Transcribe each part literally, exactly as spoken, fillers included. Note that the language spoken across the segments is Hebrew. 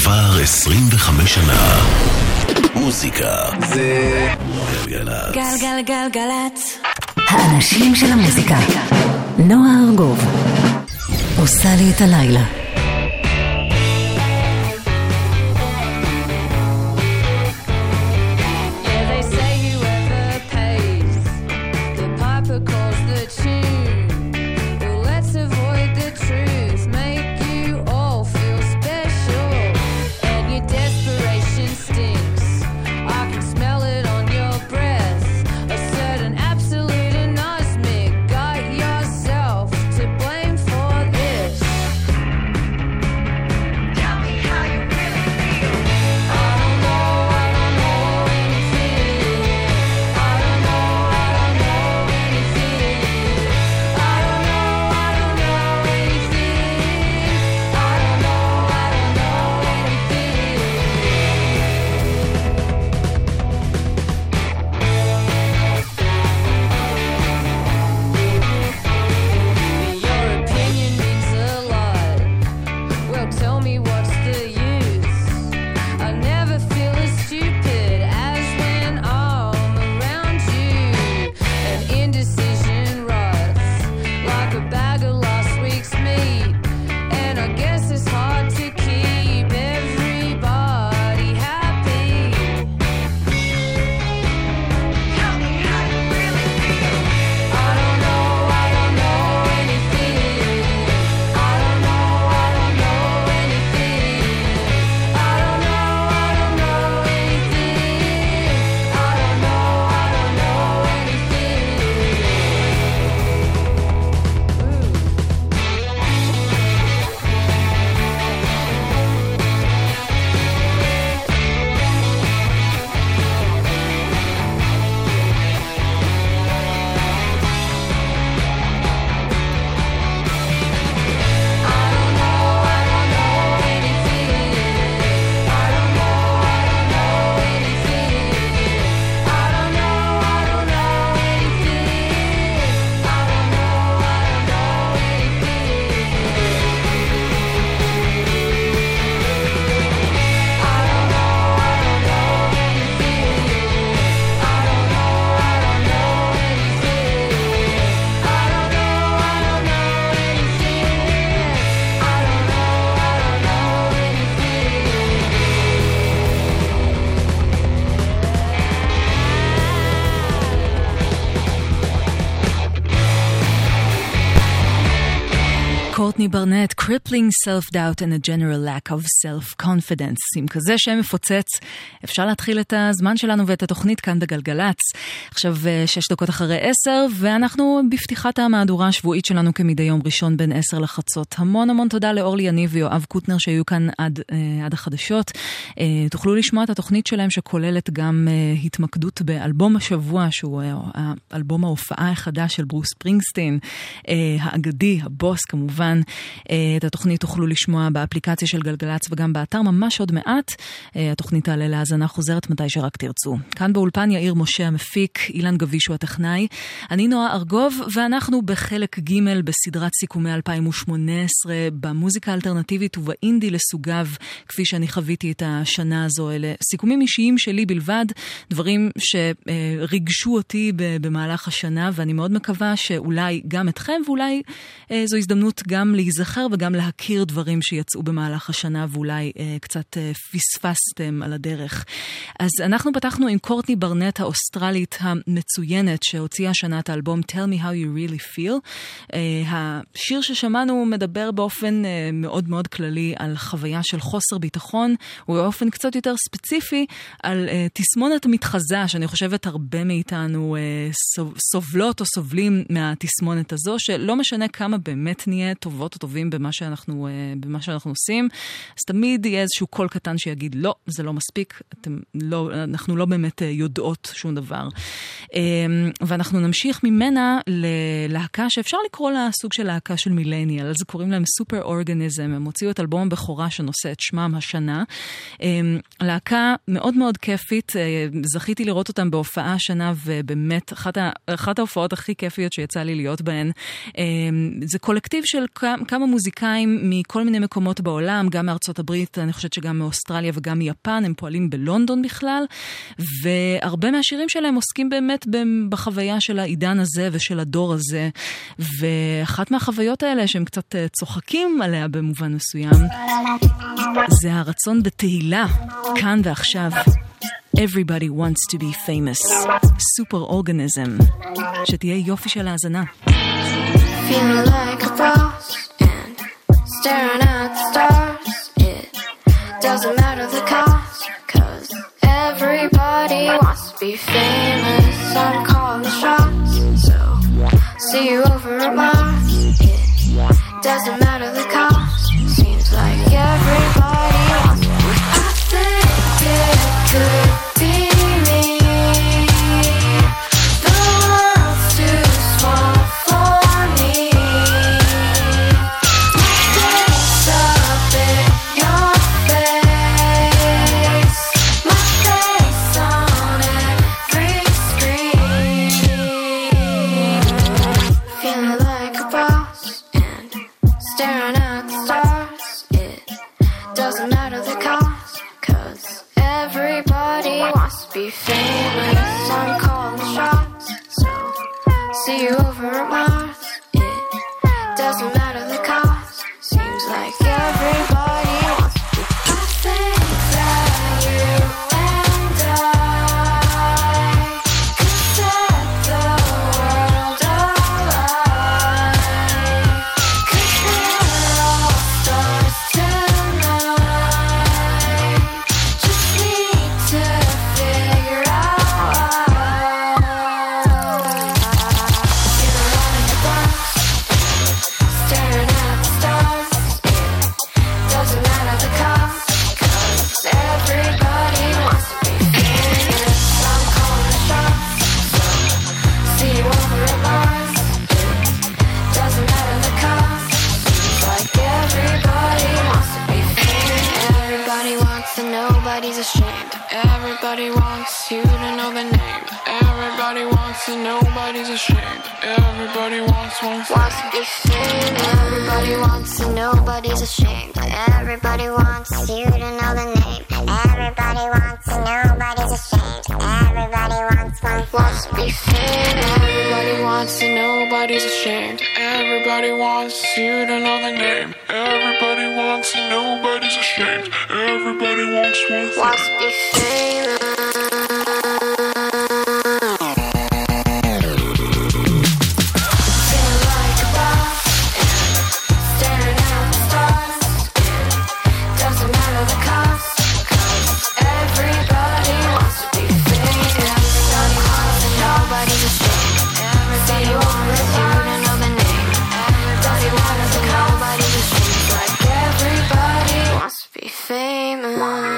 כבר עשרים וחמש שנה. מוזיקה זה גלגלצ. גלגלגלגלצ. האנשים של המוזיקה. נועה ארגוב עושה לי את הלילה. קורטני ברנט, Crippling Self-Doubt and a General Lack of Self-Confidence. עם כזה שם מפוצץ, אפשר להתחיל את הזמן שלנו ואת התוכנית כאן בגלגלץ. עכשיו שש דקות אחרי עשר, ואנחנו בפתיחת המהדורה השבועית שלנו כמדי יום ראשון בין עשר לחצות. המון המון תודה לאורלי יניב ויואב קוטנר שהיו כאן עד, עד החדשות. תוכלו לשמוע את התוכנית שלהם שכוללת גם התמקדות באלבום השבוע, שהוא אלבום ההופעה החדש של ברוס ספרינגסטין, האגדי, הבוס כמובן. את התוכנית תוכלו לשמוע באפליקציה של גלגלץ וגם באתר ממש עוד מעט. התוכנית תעלה להאזנה חוזרת מתי שרק תרצו. כאן באולפן יאיר משה המפיק, אילן גבישו הטכנאי, אני נועה ארגוב, ואנחנו בחלק ג' בסדרת סיכומי אלפיים שמונה עשרה במוזיקה האלטרנטיבית ובאינדי לסוגיו, כפי שאני חוויתי את השנה הזו. אלה סיכומים אישיים שלי בלבד, דברים שריגשו אותי במהלך השנה, ואני מאוד מקווה שאולי גם אתכם, ואולי זו הזדמנות גם להיזכר וגם להכיר דברים שיצאו במהלך השנה, ואולי אה, קצת אה, פספסתם על הדרך. אז אנחנו פתחנו עם קורטני ברנט האוסטרלית המצוינת, שהוציאה השנה את האלבום Tell Me How You Really Feel. אה, השיר ששמענו מדבר באופן אה, מאוד מאוד כללי על חוויה של חוסר ביטחון, ובאופן קצת יותר ספציפי על אה, תסמונת מתחזה, שאני חושבת הרבה מאיתנו אה, סובלות או סובלים מהתסמונת הזו, שלא משנה כמה באמת נהיה טובות או טובים במה שאנחנו, במה שאנחנו עושים, אז תמיד יהיה איזשהו קול קטן שיגיד, לא, זה לא מספיק, אתם לא, אנחנו לא באמת יודעות שום דבר. ואנחנו נמשיך ממנה ללהקה שאפשר לקרוא לה סוג של להקה של מילניאל, אז קוראים להם סופר אורגניזם, הם הוציאו את אלבום הבכורה שנושא את שמם השנה. להקה מאוד מאוד כיפית, זכיתי לראות אותם בהופעה השנה, ובאמת אחת, אחת ההופעות הכי כיפיות שיצא לי להיות בהן. זה קולקטיב של כמה מוזיקאים מכל מיני מקומות בעולם, גם מארצות הברית, אני חושבת שגם מאוסטרליה וגם מיפן, הם פועלים בלונדון בכלל, והרבה מהשירים שלהם עוסקים באמת בחוויה של העידן הזה ושל הדור הזה, ואחת מהחוויות האלה שהם קצת צוחקים עליה במובן מסוים, זה הרצון בתהילה, כאן ועכשיו. Everybody wants to be famous. Super organism. שתהיה יופי של האזנה. Feeling like a boss and staring at the stars. It doesn't matter the cost, cause everybody wants to be famous. I'm calling the shots, so see you over at Mars. It doesn't matter the cost, seems like everybody wants to be. I think it could be me. The world's too small for me. My face up in your face. My face on every screen. Feeling like a boss and staring at the stars. It doesn't matter the cost, cause everybody wants to be famous. I'm calling shots, so see you over at Mars. It doesn't matter the cost, seems like everybody wants to be. I think that you and I could set the world alight. Cause we're all stars tonight. Just need to figure out. Feeling like a boss, staring at the stars. It doesn't matter the cost, cause everybody wants to be famous. I'm calling the shots, so see you over at Mars. It doesn't matter the cost, seems like everybody wants to be famous. Everybody wants to know, nobody's ashamed. Everybody wants you to know the name. Everybody wants to know, nobody's ashamed. Everybody wants one thing. Wants to be famous. Everybody wants to know, nobody's ashamed. Everybody wants you to know the name. Everybody wants to know, nobody's ashamed. Everybody wants one thing. Wants to be famous. Everybody wants to know, nobody's ashamed. Everybody wants you to know the name. Everybody wants to know, nobody's ashamed. Everybody wants one thing. Wants to be famous. Feeling like a boss and staring at the stars. It doesn't matter the cost, cause everybody wants to be famous. Everybody wants to know, nobody's ashamed. Everybody wants you to know the name. Everybody wants to know, nobody's ashamed. Like everybody wants to be famous.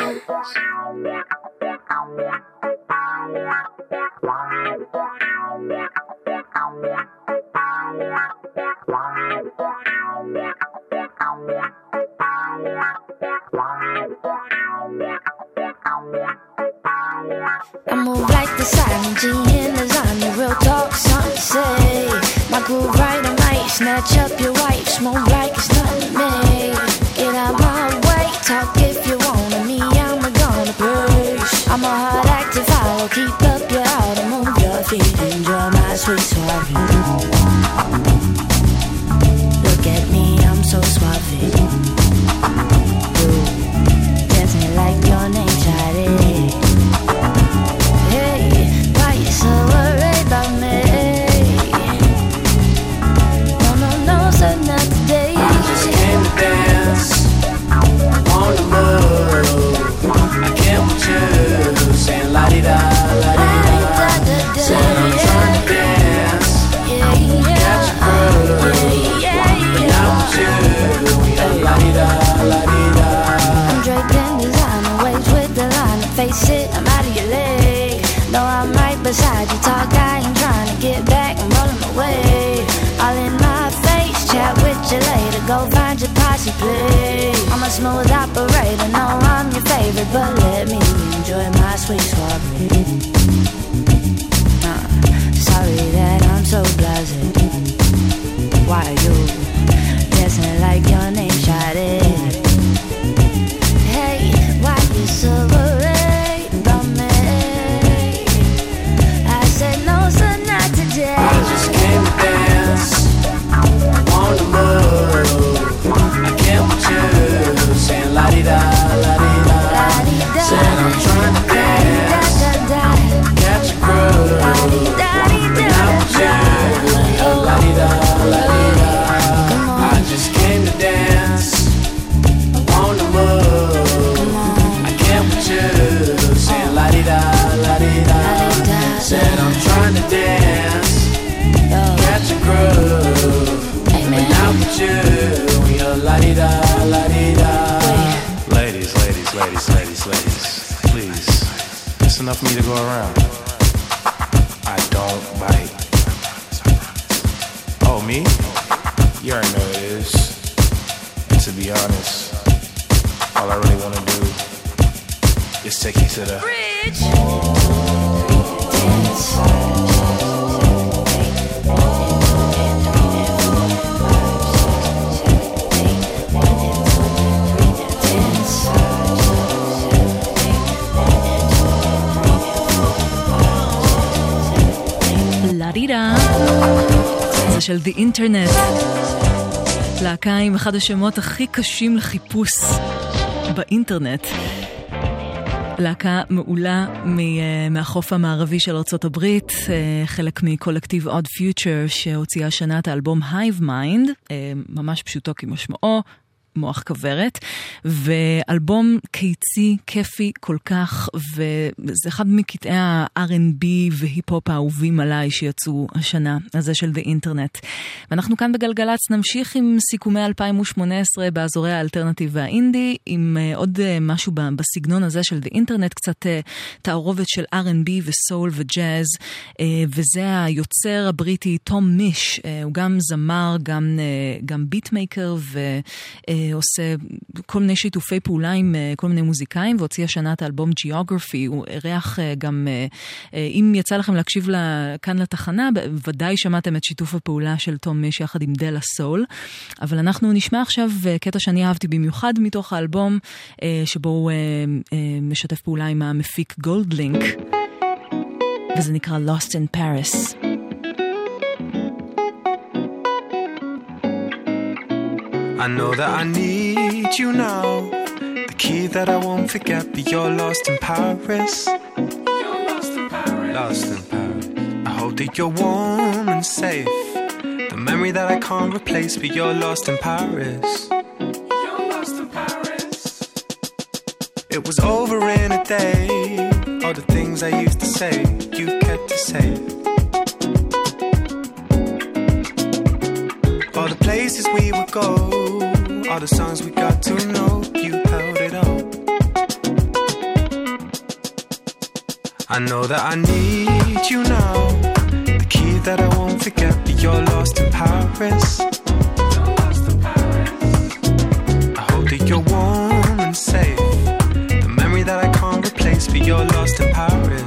I move like the silent G in lasagna. Real talk, something to say. My groove right, I might snatch up your wife. Smoke like it's nothing to me. Get out my way, talk if you want me. I'm gonna push. I'm a hard act to follow. Keep up your heart and move your feet. Enjoy my sweet suave. Look at me, I'm so suave. You dancing like your name, Shawty. Hey, why you so worried about me? No, no, no, sir, not today. I just came to dance on the move. I came with you, saying la-di-da, la-di-da. Said I'm trying to dance. Yeah, yeah. Got your groove. But not with you. We got la-di-da, la-di-da. I'm draped in designer, waves with the line. Face it, I'm out of your leg. No, I'm right beside you. Talk, I ain't trying to get back. I'm rolling away. All in my face, chat with you later. Go find your posse, please. I'm a smooth operator. No, I'm your favorite, but let me enjoy my sweet soiree. Uh, sorry that I'm so blasé. Why are you dancing la-di-da, la-di-da. Said I'm trying to dance, catch a groove, but not with you. La-di-da, la-di-da. I just came to dance, on the move. I can't with you, saying la-di-da, la-di-da. Said I'm trying to dance, catch a groove, but not with you. You're la-di-da, la-di-da. Ladies, ladies, ladies, ladies, ladies, please, it's enough for me to go around. I don't bite. Oh, me? You already know it is. And to be honest, all I really want to do is take you to the bridge. לרירה, זה של The Internet, להקה עם אחד השמות הכי קשים לחיפוש באינטרנט. להקה מעולה מהחוף המערבי של ארצות הברית, חלק מקולקטיב Odd Future שהוציאה שנה את האלבום Hive Mind, ממש פשוטו כמשמעו, מוח כברת, ואלבום קיצי, כיפי כל כך, וזה אחד מקטעי ה-אר אנד בי והיפ-הופ האהובים עליי שיצאו השנה, הזה של The Internet. ואנחנו כאן בגלגלץ נמשיך עם סיכומי אלפיים שמונה עשרה באזורי האלטרנטיב והאינדי, עם עוד משהו בסגנון הזה של The Internet, קצת תערובת של אר אנד בי וסול וג'אז, וזה היוצר הבריטי תום מיש, הוא גם זמר, גם, גם ביטמייקר ו... עושה כל מיני שיתופי פעולה עם כל מיני מוזיקאים, והוציא השנה את האלבום Geography. הוא ערך גם, אם יצא לכם להקשיב כאן לתחנה, ודאי שמעתם את שיתוף הפעולה של תום מיש יחד עם דלה סול, אבל אנחנו נשמע עכשיו קטע שאני אהבתי במיוחד מתוך האלבום, שבו הוא משתף פעולה עם המפיק גולדלינק, וזה נקרא Lost in Paris. I know that I need you now, the key that I won't forget, but you're lost in Paris. You're lost in Paris. Lost in Paris. I hope that you're warm and safe, the memory that I can't replace, but you're lost in Paris. You're lost in Paris. It was over in a day, all the things I used to say, you kept to say. All the places we would go, all the songs we got to know, you held it all. I know that I need you now, the key that I won't forget, but you're lost in Paris. You're lost in Paris. I hope that you're warm and safe, the memory that I can't replace, but you're lost in Paris.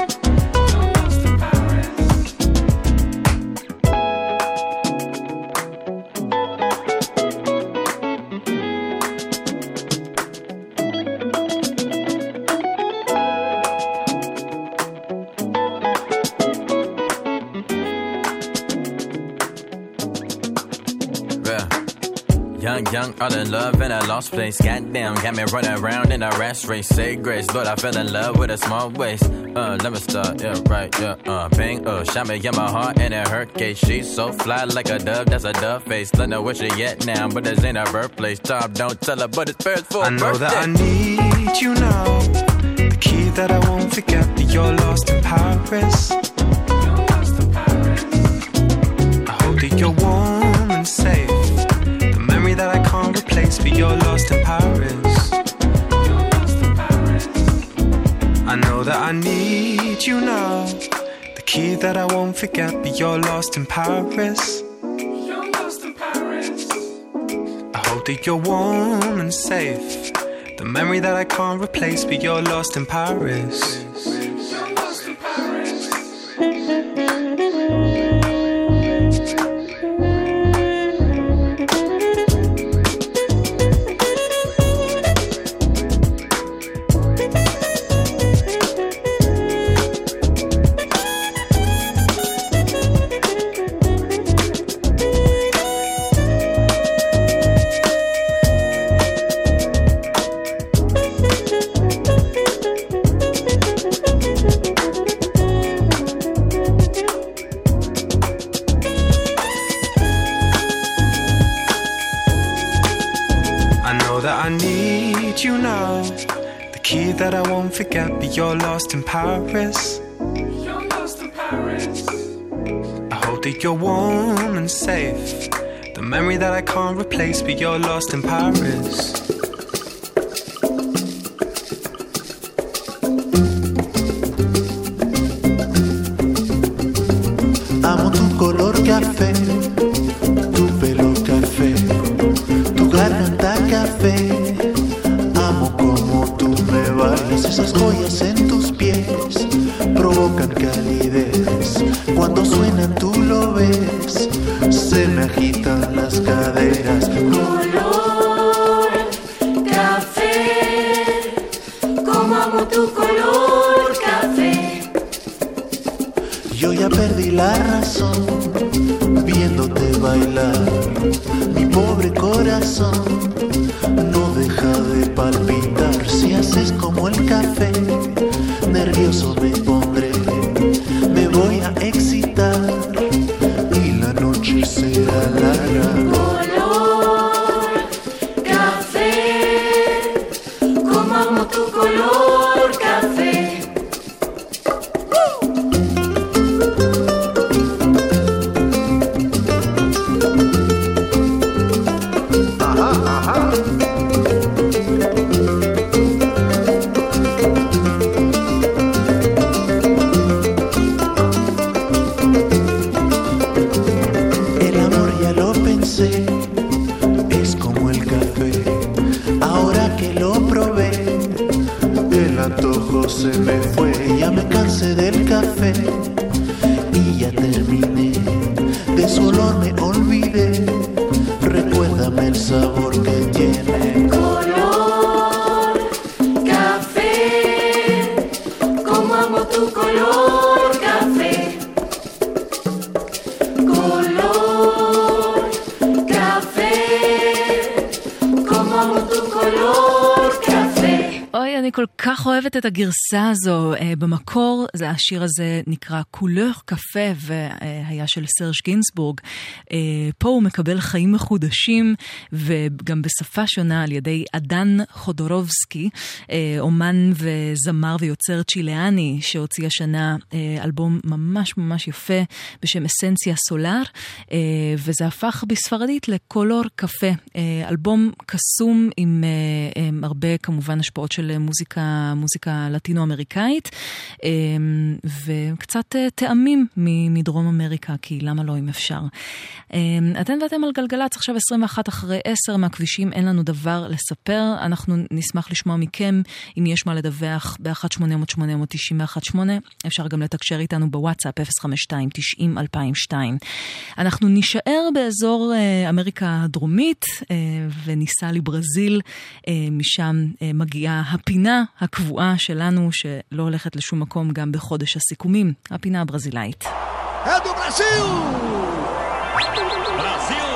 Young, young, all in love in a lost place. Goddamn, got me running around in a rat race. Say grace, Lord, I fell in love with a small waist. Uh, let me start, yeah, right, yeah, uh, bang, uh, shot me in my heart and it hurt case. She's so fly like a dove, that's a dove face. Let know where she at now, but this ain't her birthplace. Tom, don't tell her, but it's Paris for I know birthday. that I need you now, the key that I won't forget, but you're lost in Paris. You're lost in Paris. I hope that you're warm and safe, that I can't replace, but you're lost in Paris. You're lost in Paris. I know that I need you now, the key that I won't forget, but you're lost in Paris. You're lost in Paris. I hope that you're warm and safe, the memory that I can't replace, but you're lost in Paris. You're lost in Paris. know the key that I won't forget, but you're lost in Paris. You're lost in Paris. I hope that you're warm and safe. The memory that I can't replace, but you're lost in Paris. Amo tu color café, tu pelo café, tu garganta café. Amo como tú me bailas, esas joyas en tus pies provocan calidez. Cuando suenan tú lo ves, se me agitan las caderas. Color café, como amo tu color café. Yo ya perdí la razón viéndote bailar. Mi pobre corazón no deja de palpitar. Si haces como el café, nervioso me pondré. Me voy a excitar y la noche será larga. Color café, como amo tu color café. Se me fue, ya me cansé del café y ya terminé. De su olor me olvidé. Recuérdame el sabor que tiene. Color café, como amo tu color café. Color café, como amo tu color café. אוי, אני כל כך אוהבת את הגרסה הזו. במקור, השיר הזה נקרא קולר קפה, והיה של סרג' גינסבורג. פה הוא מקבל חיים מחודשים, וגם בשפה שונה על ידי אדן חודורובסקי, אומן וזמר ויוצר צ'יליאני, שהוציא השנה אלבום ממש ממש יפה, בשם אסנציה סולר, וזה הפך בספרדית לקולר קפה. אלבום קסום עם הרבה כמובן השפעות של מוזיקה, מוזיקה לטינו-אמריקאית, וקצת טעמים מדרום אמריקה, כי למה לא אם אפשר. אתם ואתם על גלגלץ, עכשיו עשרים ואחת אחרי עשר מהכבישים, אין לנו דבר לספר, אנחנו נשמח לשמוע מכם, אם יש מה לדווח ב-אחת שמונה אפס אפס שמונה תשע אחת שמונה, אפשר גם לתקשר איתנו בוואטסאפ אפס חמש שתיים תשעים אלפיים ושתיים. אנחנו נשאר באזור אמריקה הדרומית, וניסע לברזיל, משם מגיעה הפינה הקבועה שלנו, שלא הולכת לשום מקום גם בחודש הסיכומים, הפינה הברזילאית. אדו ברזיל! ברזיל!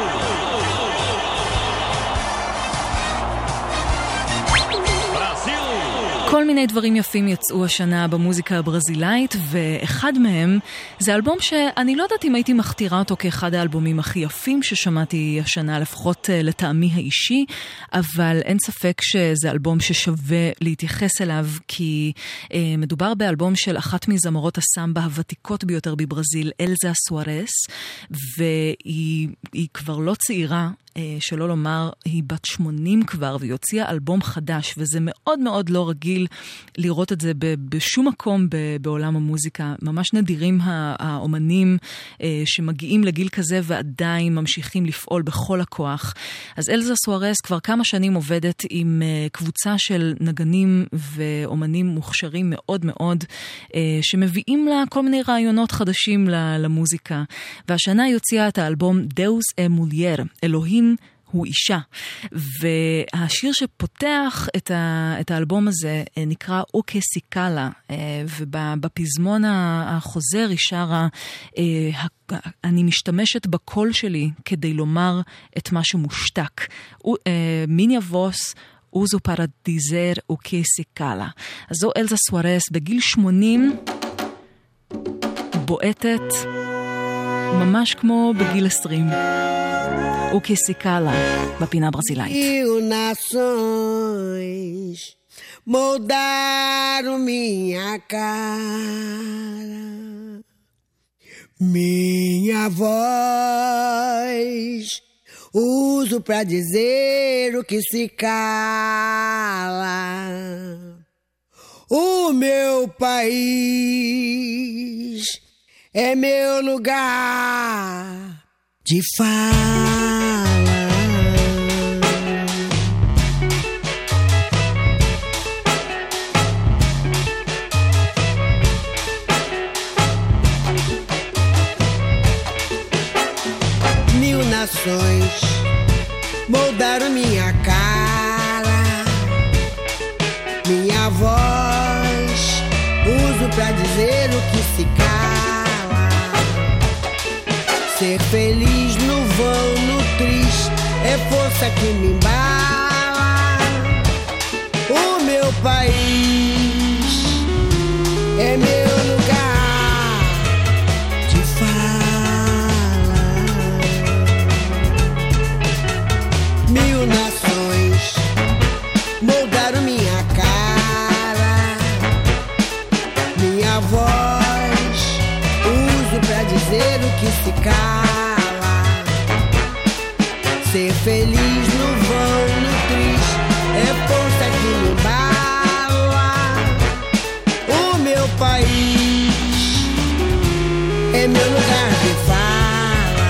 כל מיני דברים יפים יצאו השנה במוזיקה הברזילאית, ואחד מהם זה אלבום שאני לא יודעת אם הייתי מכתירה אותו כאחד האלבומים הכי יפים ששמעתי השנה, לפחות לטעמי האישי, אבל אין ספק שזה אלבום ששווה להתייחס אליו, כי אה, מדובר באלבום של אחת מזמרות הסמבה הוותיקות ביותר בברזיל, אלזה סוארס, והיא היא כבר לא צעירה, שלא לומר, היא בת שמונים כבר, והיא הוציאה אלבום חדש, וזה מאוד מאוד לא רגיל לראות את זה בשום מקום בעולם המוזיקה. ממש נדירים האומנים שמגיעים לגיל כזה ועדיין ממשיכים לפעול בכל הכוח. אז אלזה סוארס כבר כמה שנים עובדת עם קבוצה של נגנים ואומנים מוכשרים מאוד מאוד, שמביאים לה כל מיני רעיונות חדשים למוזיקה. והשנה היא הוציאה את האלבום דאוס אה מולייר, אלוהים הוא אישה, והשיר שפותח את, ה, את האלבום הזה נקרא אוקה סיקלה, ובפזמון החוזר היא שרה, אני משתמשת בקול שלי כדי לומר את מה שמושתק. מיני ווס אוזו פרדיזר אוקה סיקלה. אז זו אלזה סוארס בגיל שמונים בועטת ממש כמו בגיל עשרים. וכסיקלה בפינה הברזילאית. Mil nações moldaram minha cara, minha voz uso pra dizer o que se cala. O meu país é meu lugar de fala. Mil nações moldaram minha cara, minha voz uso pra dizer o que se cala. Ser feliz no vão, no triste, é força que me embala. O meu país é meu lugar de fala. Mil nações moldaram minha cara, minha voz uso pra dizer o que se cala. Ser feliz no vão, no triste, é força que me embala. O meu país é meu lugar de fala.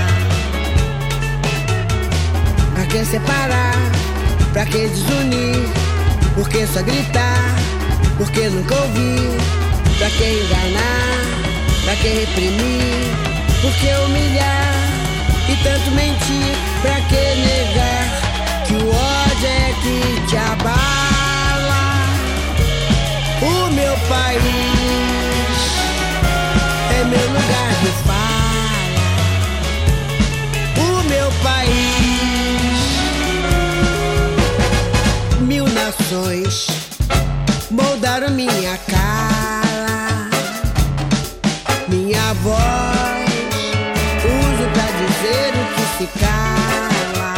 Pra que separar? Pra que desunir? Por que só gritar? Por que nunca ouvir? Pra que enganar? Pra que reprimir? Por que humilhar? E tanto mentir? Pra que negar? Que o ódio é que te abala. O meu país é meu lugar de fala. O meu país. Mil nações moldaram minha cara, minha voz uso pra dizer o que se cala.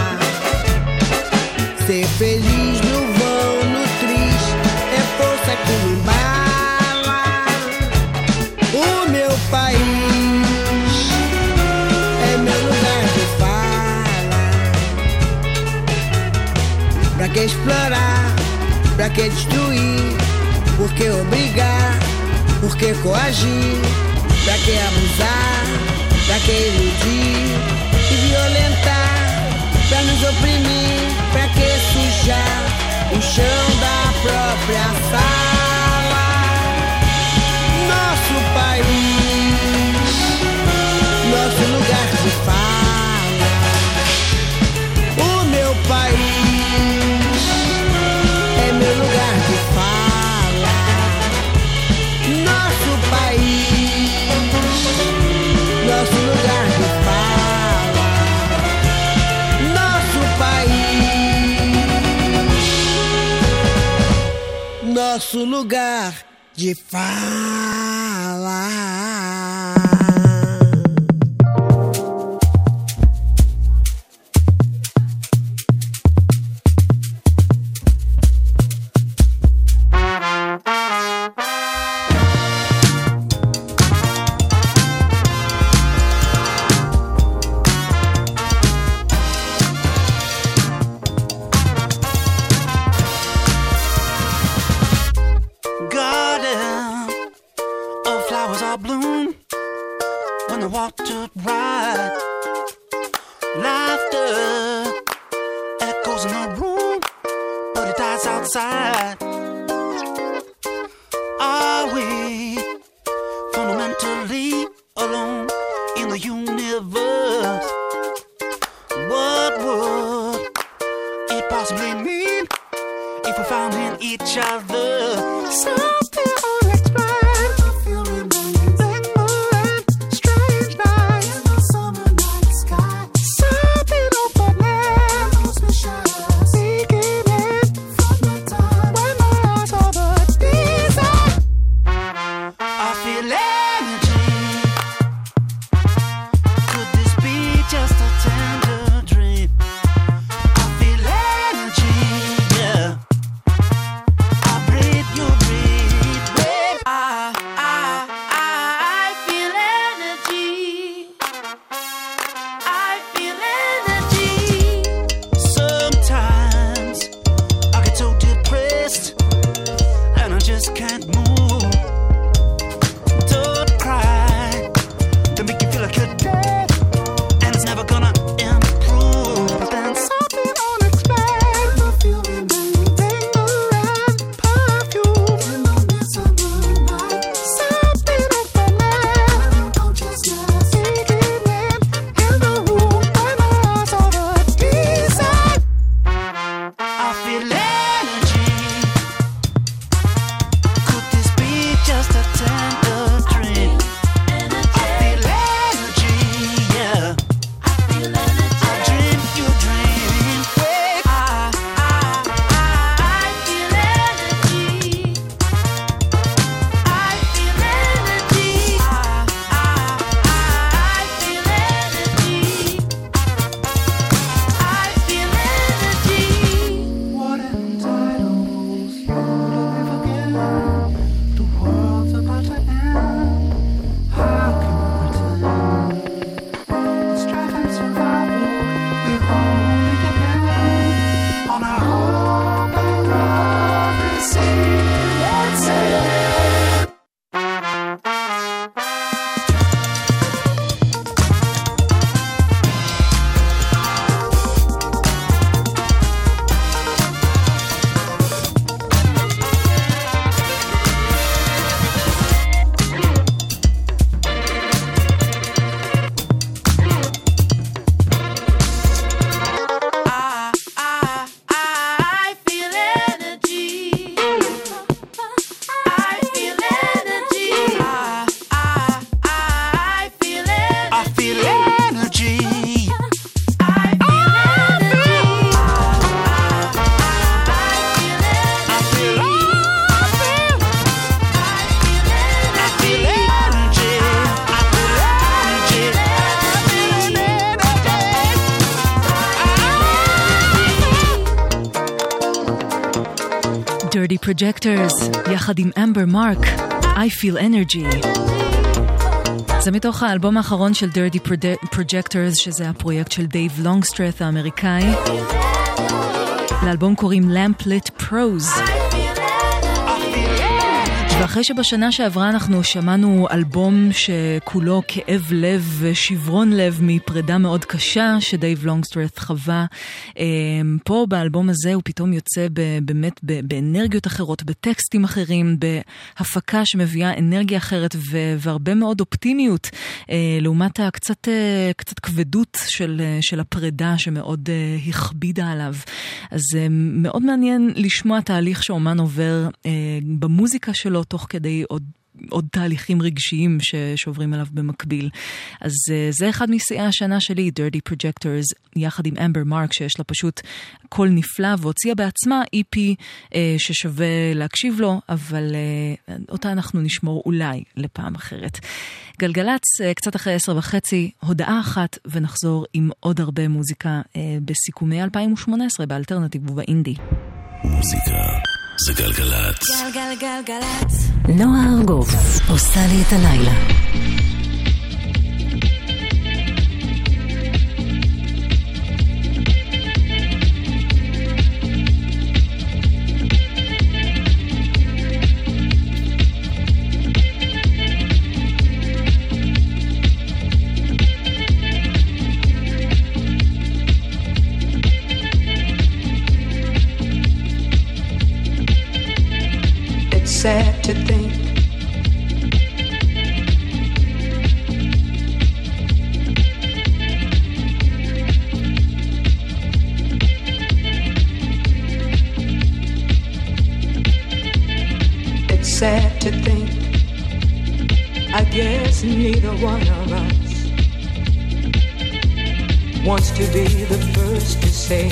Ser feliz no vão, no triste, é força que me embala. O meu país é meu lugar de fala. Pra que explorar? Pra que destruir? Por que obrigar? Por que coagir? Pra que abusar? Pra que iludir e violentar? Pra nos oprimir? Pra que sujar o chão da própria sala? Nosso país, nosso lugar de fala. O meu país é meu lugar de fala. Nosso país, nosso lugar de fala. Nosso país, nosso lugar de fala. Projectors, יחד עם אמבר מרק, I Feel Energy. זה מתוך האלבום האחרון של Dirty Projectors, שזה הפרויקט של דייב לונגסטרת האמריקאי. לאלבום קוראים Lamplit Prose. ואחרי שבשנה שעברה אנחנו שמענו אלבום שכולו כאב לב ושברון לב מפרידה מאוד קשה שדייב לונגסטרת חווה, פה באלבום הזה הוא פתאום יוצא באמת באנרגיות אחרות, בטקסטים אחרים, בהפקה שמביאה אנרגיה אחרת והרבה מאוד אופטימיות לעומת הקצת קצת כבדות של, של הפרידה שמאוד הכבידה עליו. אז מאוד מעניין לשמוע תהליך שאומן עובר במוזיקה שלו תוך כדי עוד, עוד תהליכים רגשיים שעוברים אליו במקביל. אז זה אחד משיאי השנה שלי, Dirty Projectors, יחד עם אמבר מרק, שיש לה פשוט קול נפלא, והוציאה בעצמה אי פי ששווה להקשיב לו, אבל אותה אנחנו נשמור אולי לפעם אחרת. גלגלץ, קצת אחרי עשר וחצי, הודעה אחת, ונחזור עם עוד הרבה מוזיקה בסיכומי אלפיים ושמונה עשרה באלטרנטיב ובאינדי. מוזיקה זה גלגלץ. גלגלגלגלץ. נועה ארגוב עושה לי את הלילה. Sad to think It's sad to think I guess neither one of us wants to be the first to say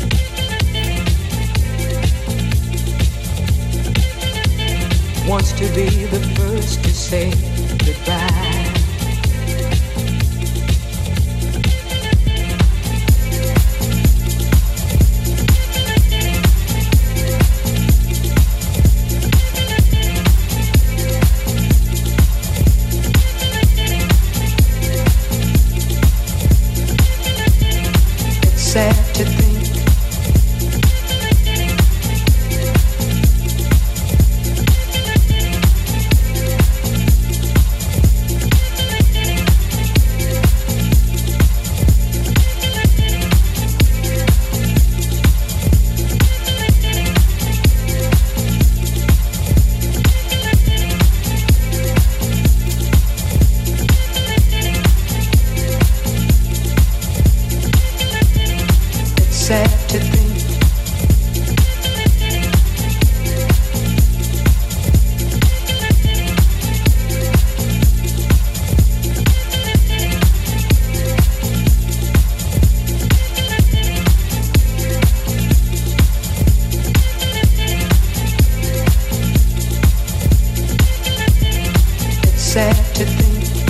wants to be the first to say goodbye. It's sad to think sad to think It's sad to think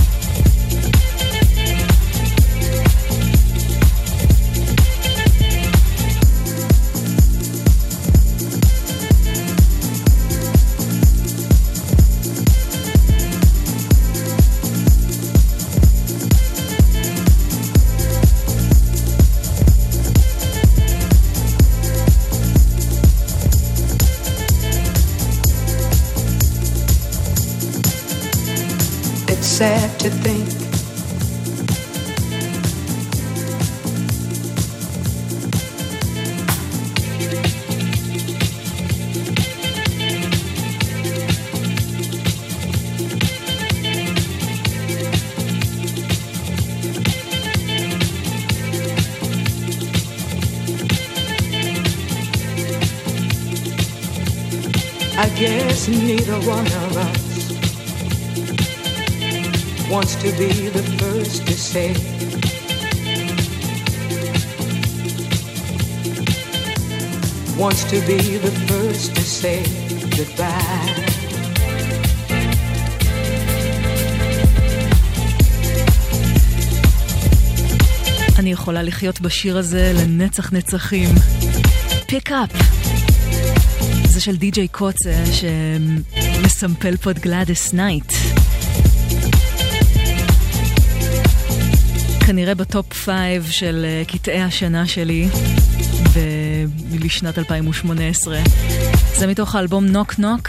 sad to think I guess neither one of us wants to be the first to say wants to be the first to say goodbye. אני יכולה לחיות בשיר הזה לנצח נצחים. Pick up. זה של די-ג'יי קוצה שמסמפל פה את גלאדיס נייט. כנראה בטופ פייב של קטעי השנה שלי לשנת אלפיים ושמונה עשרה. זה מתוך האלבום נוק נוק,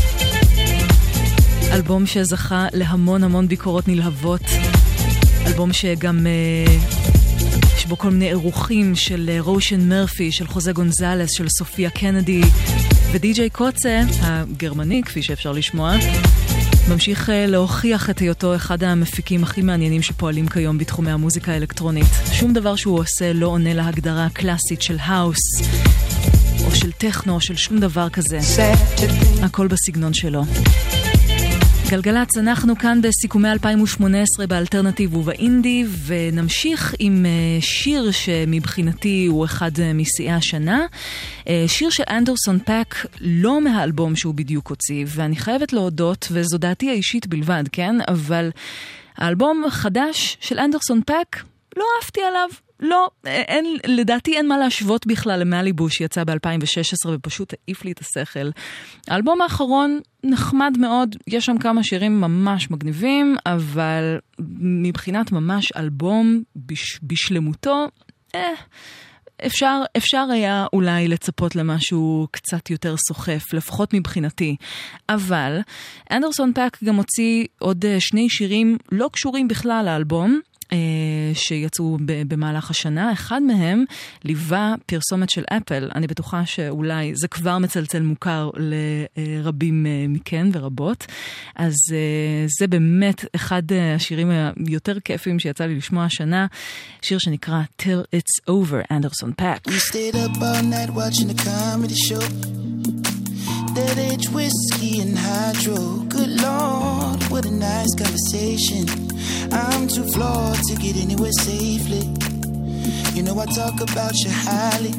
אלבום שזכה להמון המון ביקורות נלהבות, אלבום שגם יש בו כל מיני אירוחים של רושן מרפי, של חוזה גונזלס, של סופיה קנדי, ודי-ג'יי קוצה, הגרמני כפי שאפשר לשמוע, ממשיך להוכיח את היותו אחד המפיקים הכי מעניינים שפועלים כיום בתחומי המוזיקה האלקטרונית. שום דבר שהוא עושה לא עונה להגדרה הקלאסית של האוס או של טכנו או של שום דבר כזה. הכל בסגנון שלו. גלגלץ, אנחנו כאן בסיכומי אלפיים ושמונה עשרה באלטרנטיב ובאינדי, ונמשיך עם שיר שמבחינתי הוא אחד משיאי השנה. שיר של אנדרסון פאק, לא מהאלבום שהוא בדיוק הוציא, ואני חייבת להודות, וזו דעתי האישית בלבד, כן? אבל האלבום החדש של אנדרסון פאק, לא אהבתי עליו. לא, אין, לדעתי אין מה להשוות בכלל למאליבו שיצא ב-אלפיים ושש עשרה ופשוט העיף לי את השכל. האלבום האחרון נחמד מאוד, יש שם כמה שירים ממש מגניבים, אבל מבחינת ממש אלבום בש, בשלמותו, אה, אפשר, אפשר היה אולי לצפות למשהו קצת יותר סוחף, לפחות מבחינתי. אבל אנדרסון פאק גם הוציא עוד שני שירים לא קשורים בכלל לאלבום, שיצאו במהלך השנה. אחד מהם ליווה פרסומת של אפל. אני בטוחה שאולי זה כבר מצלצל מוכר לרבים מכן ורבות. אז זה באמת אחד השירים היותר כיפים שיצא לי לשמוע השנה, שיר שנקרא Till It's Over, אנדרסון פאק. We stayed up all night watching a comedy show. That age whiskey and hydro. Good Lord, what a nice conversation. I'm too flawed to get anywhere safely. You know I talk about you highly.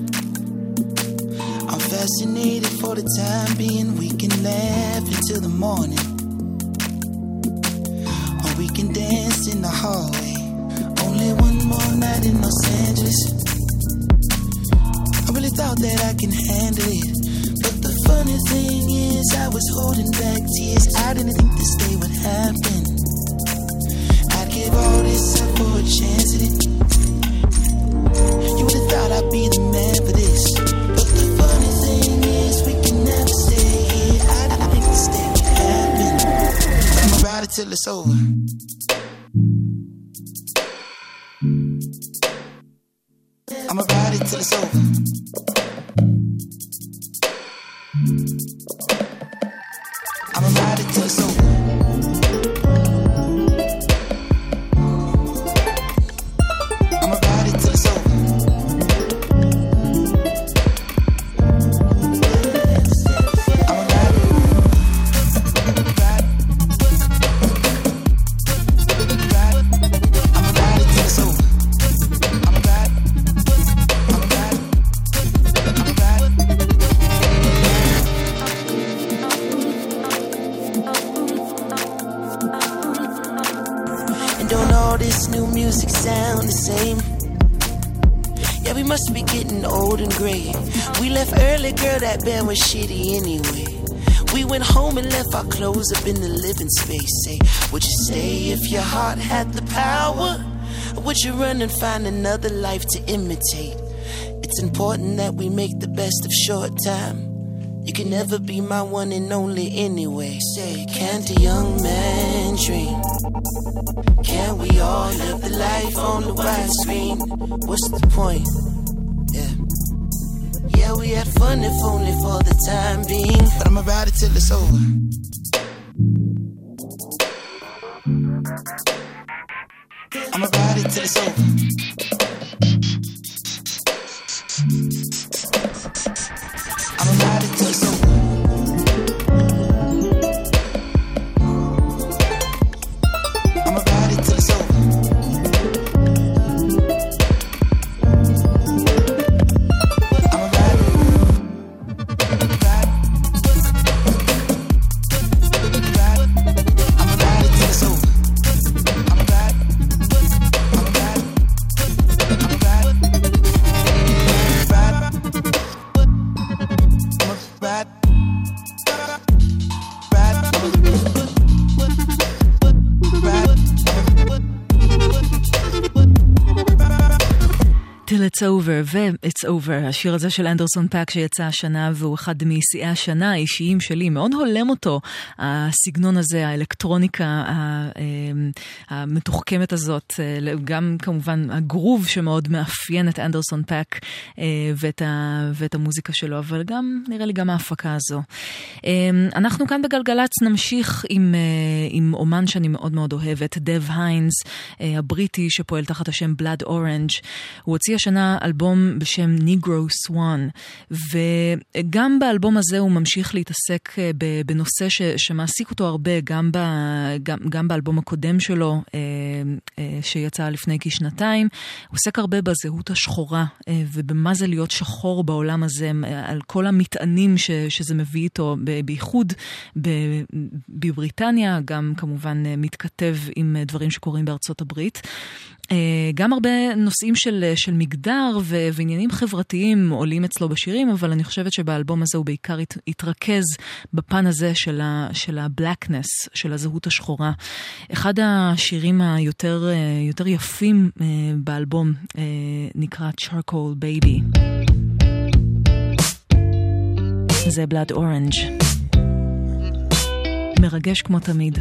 I'm fascinated for the time being. We can laugh until the morning, or we can dance in the hallway. Only one more night in Los Angeles. I really thought that I can handle it, but the funny thing is I was holding back tears. I didn't think this day would happen. I'd give all this up for a chance at it. You would've thought I'd be the man for this, but the funny thing is we can never stay here. I didn't think this day would happen. I'ma ride it till it's over. I'ma ride it till it's over. I'ma ride it till it's over. I'ma ride it till it's over. I'ma ride it. Ride. Ride. I'ma ride it till it's over. I'ma ride. I'ma ride. I'ma ride. Don't all this new music sound the same? Yeah, we must be getting old and gray. We left early, girl, that band was shitty anyway. We went home and left our clothes up in the living space. Say, would you stay if your heart had the power? Or would you run and find another life to imitate? It's important that we make the best of short time. You can never be my one and only anyway. Say, can't a young man dream? Can't we all live the life on the widescreen? What's the point? Yeah. Yeah, we had fun if only for the time being. But I'ma ride it till it's over. I'ma ride it till it's over. I'ma ride it till it's over. I'ma ride it till it's over. I'ma ride it. Ride. Ride. I'ma ride it till it's over. I'ma ride. I'ma ride. Over ו-It's Over, השיר הזה של אנדרסון פאק שיצא השנה והוא אחד משיאי השנה האישיים שלי, מאוד הולם אותו הסגנון הזה, האלקטרוניקה המתוחכמת הזאת, גם כמובן הגרוב שמאוד מאפיין את אנדרסון פאק ואת, ה, ואת המוזיקה שלו, אבל גם נראה לי גם ההפקה הזו. אנחנו כאן בגלגלץ נמשיך עם, עם אומן שאני מאוד מאוד אוהבת, דב היינס, הבריטי שפועל תחת השם Blood Orange. הוא הוציא השנה אלבום בשם Negro Swan, וגם באלבום הזה הוא ממשיך להתעסק בנושא ש, שמעסיק אותו הרבה, גם, ב, גם, גם באלבום הקודם שלו, שיצא לפני כשנתיים. הוא עוסק הרבה בזהות השחורה, ובמה זה להיות שחור בעולם הזה, על כל המטענים ש, שזה מביא איתו, בייחוד בבריטניה, גם כמובן מתכתב עם דברים שקורים בארצות הברית. גם הרבה נושאים של, של מגדר ו, ועניינים חברתיים עולים אצלו בשירים, אבל אני חושבת שבאלבום הזה הוא בעיקר הת, התרכז בפן הזה של, ה, של ה-blackness, של הזהות השחורה. אחד השירים היותר יותר יפים באלבום נקרא Charcoal Baby. זה Blood Orange. מרגש כמו תמיד.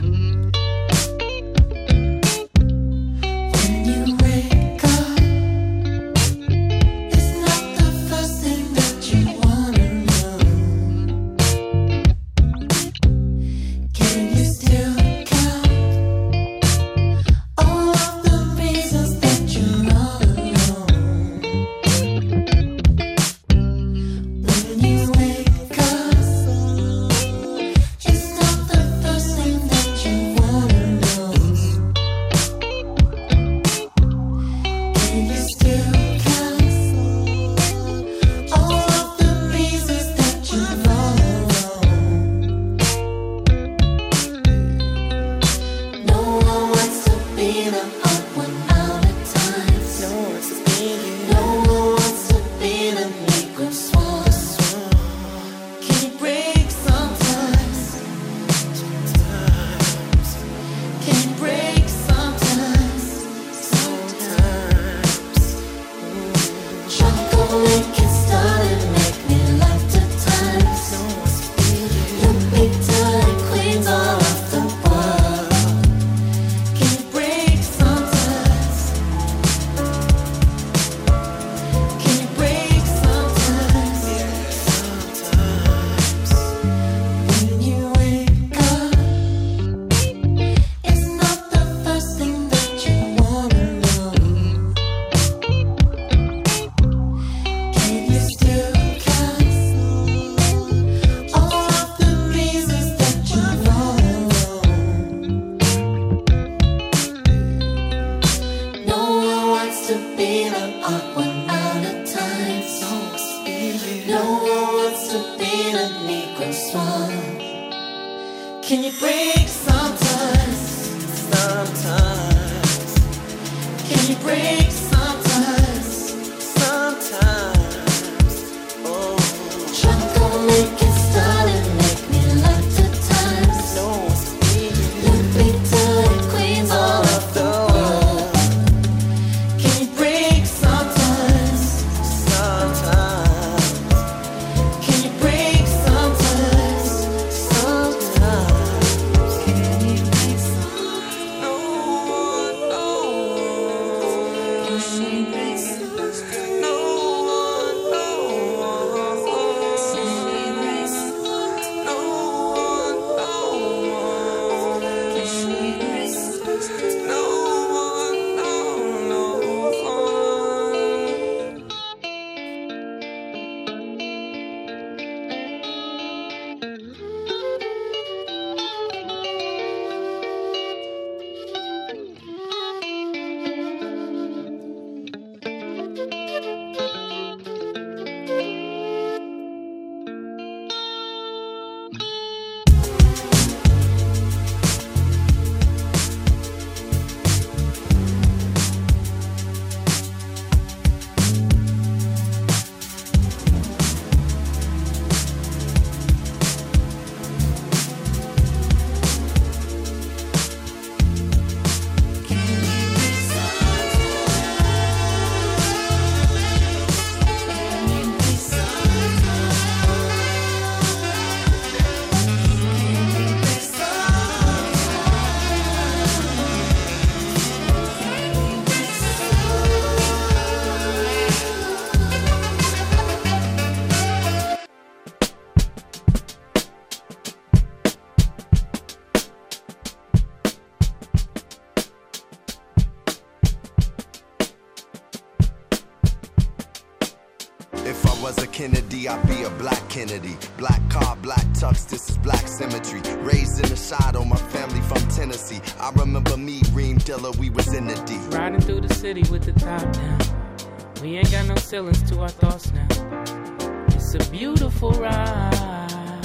I'd be a black Kennedy. Black car, black tux, this is black symmetry. Raised in the shadow, my family from Tennessee. I remember me, Reem Dilla, we was in the D. Riding through the city with the top down. We ain't got no ceilings to our thoughts now. It's a beautiful ride.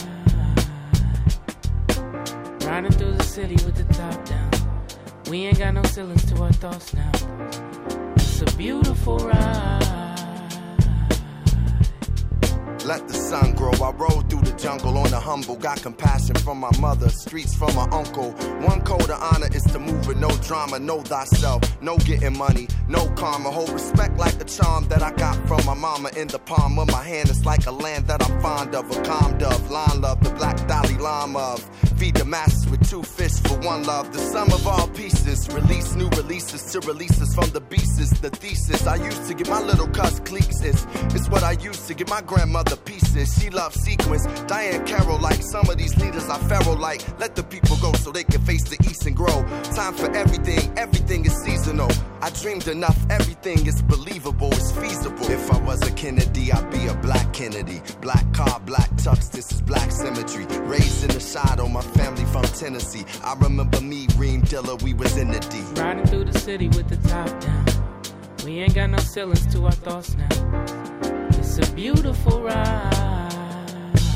Riding through the city with the top down. We ain't got no ceilings to our thoughts now. It's a beautiful ride. Let the sun grow. I rode through the jungle on the humble. Got compassion from my mother, streets from my uncle. One code of honor is to move with no drama. Know thyself, no getting money, no karma. Hold respect like the charm that I got from my mama. In the palm of my hand, it's like a land that I'm fond of. A calm dove, line love, the black Dalai Lama of. Feed the masses with two fists for one love. The sum of all pieces. Release new releases to release us from the beasts. The thesis I used to get my little cuss cliques. It's, it's what I used to get my grandmother pieces. She loves sequence. Diane Carroll like some of these leaders are pharaoh like. Let the people go so they can face the east and grow. Time for everything. Everything is seasonal. I dreamed enough. Everything is believable. It's feasible. If I was a Kennedy, I'd be a black Kennedy. Black car, black tux. This is black symmetry. Raised in the shadow. My family from Tennessee. I remember me, Reem Dilla, we was in the D. Riding through the city with the top down. We ain't got no ceilings to our thoughts now. It's a beautiful ride.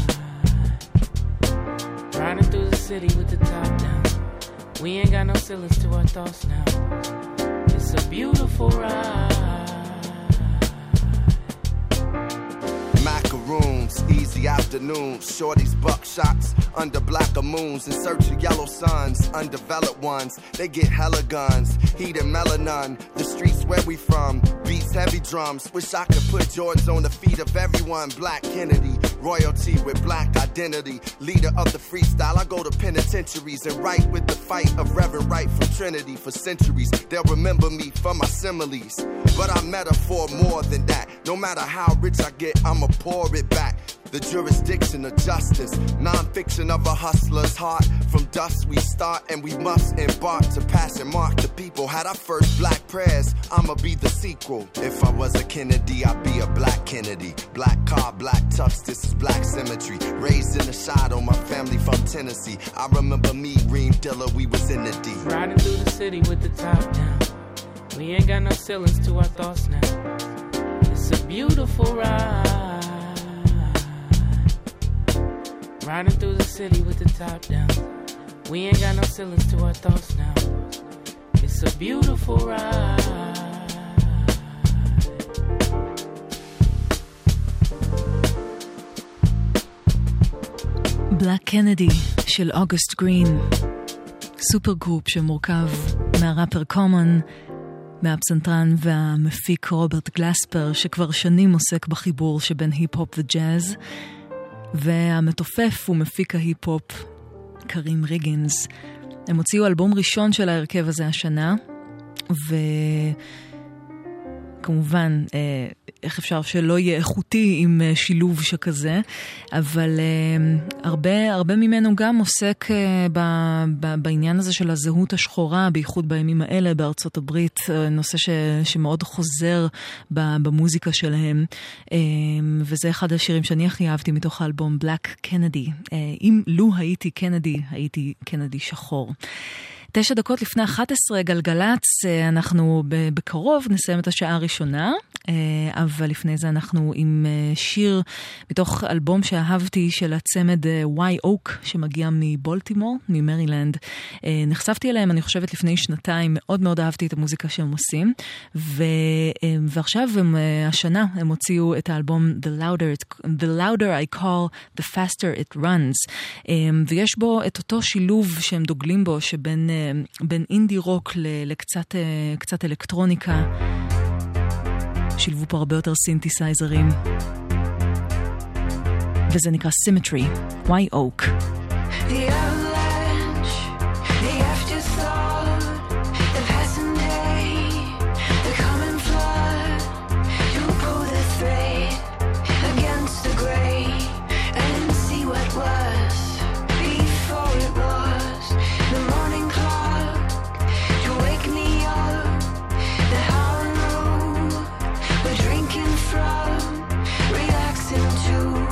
Riding through the city with the top down. We ain't got no ceilings to our thoughts now. It's a beautiful ride. Macaroons, easy afternoons, shorties buckshots under blacker moons in search of yellow suns, undeveloped ones, they get hella guns, heat and melanin, the streets where we from, beats heavy drums, wish I could put Jordans on the feet of everyone, Black Kennedy, royalty with black identity, leader of the freestyle, I go to penitentiaries and write with the fight of Reverend Wright from Trinity for centuries, they'll remember me for my similes, but I'm metaphor more than that, no matter how rich I get, I'ma pour it back. The jurisdiction of justice, non-fiction of a hustler's heart. From dust we start and we must embark to pass and mark the people. Had our first black prayers, I'ma be the sequel. If I was a Kennedy, I'd be a black Kennedy. Black car, black tux, this is black symmetry. Raised in the shadow, my family from Tennessee. I remember me, Reem Dilla, we was in the D. Riding through the city with the top down. We ain't got no ceilings to our thoughts now. It's a beautiful ride. Riding through the city with the top down. We ain't got no ceilings to our thoughts now. It's a beautiful ride. בלק קנדי של אוגוסט גרין, סופר גרופ שמורכב מהראפר קומון, מהפסנתרן והמפיק רוברט גלספר, שכבר שנים עוסק בחיבור שבין היפ-הופ וג'אז, והמתופף ומפיק ההיפ-הופ קרים ריגינס. הם הוציאו אלבום ראשון של ההרכב הזה השנה, וכמובן איך אפשר שלא יהיה איכותי עם שילוב שכזה, אבל הרבה, הרבה ממנו גם עוסק ב, ב, בעניין הזה של הזהות השחורה, בייחוד בימים האלה בארצות הברית, נושא ש, שמאוד חוזר במוזיקה שלהם, וזה אחד השירים שאני הכי אהבתי מתוך האלבום בלק קנדי. אם לו הייתי קנדי, הייתי קנדי שחור. תשע דקות לפני אחת עשרה גלגלץ, אנחנו בקרוב נסיים את השעה הראשונה, אבל לפני זה אנחנו עם שיר מתוך אלבום שאהבתי של הצמד וואי אוק, שמגיע מבולטימור, ממרילנד. נחשפתי אליהם, אני חושבת, לפני שנתיים, מאוד מאוד אהבתי את המוזיקה שהם עושים, ו... ועכשיו הם, השנה הם הוציאו את האלבום The Louder, The Louder I Call, The Faster It Runs, ויש בו את אותו שילוב שהם דוגלים בו, שבין בין אינדי רוק לקצת קצת אלקטרוניקה. שילבו פה הרבה יותר סינתסייזרים, וזה נקרא Symmetry, וואי אוק. From relaxing to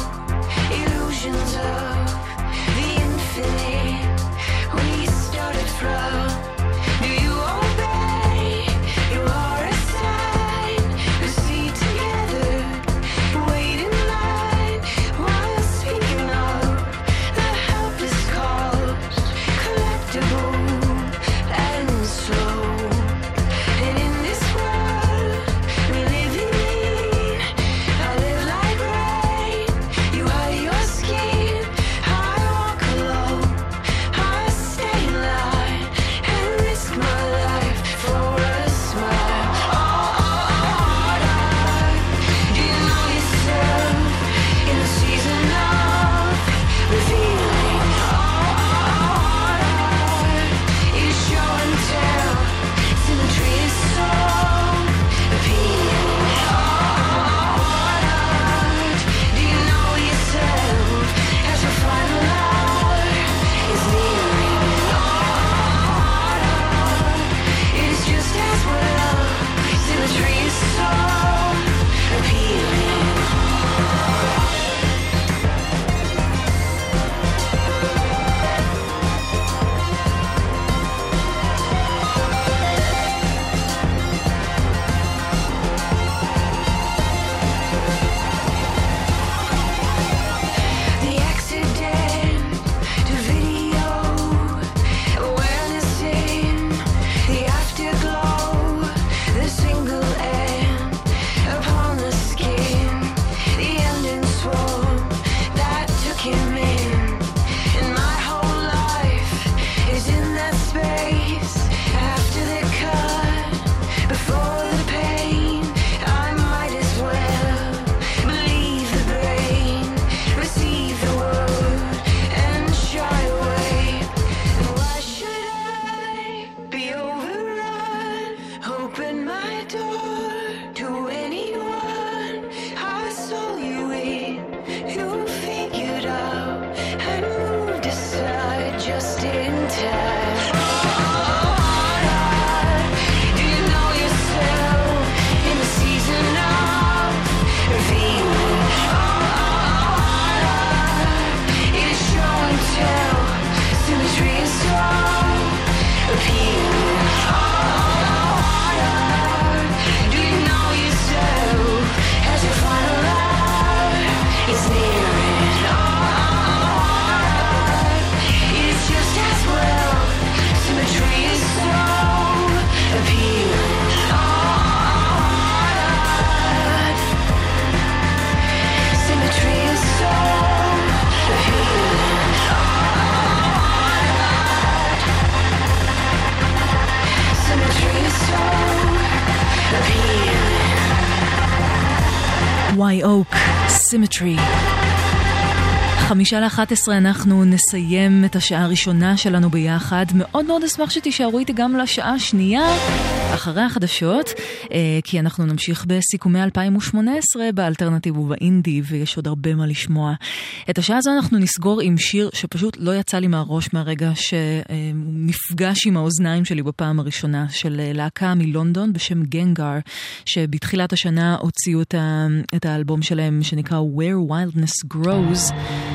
Wye Oak, Symmetry. חמישה לאחת עשרה אנחנו נסיים את השעה הראשונה שלנו ביחד. מאוד מאוד אשמח שתישארו איתי גם לשעה השנייה אחרי החדשות, כי אנחנו נמשיך בסיכומי אלפיים ושמונה עשרה באלטרנטיב ובאינדי, ויש עוד הרבה מה לשמוע. את השעה הזו אנחנו נסגור עם שיר שפשוט לא יצא לי מהראש מהרגע שנפגש עם האוזניים שלי בפעם הראשונה, של להקה מלונדון בשם גנגר, שבתחילת השנה הוציאו את האלבום שלהם שנקרא Where Wildness Grows,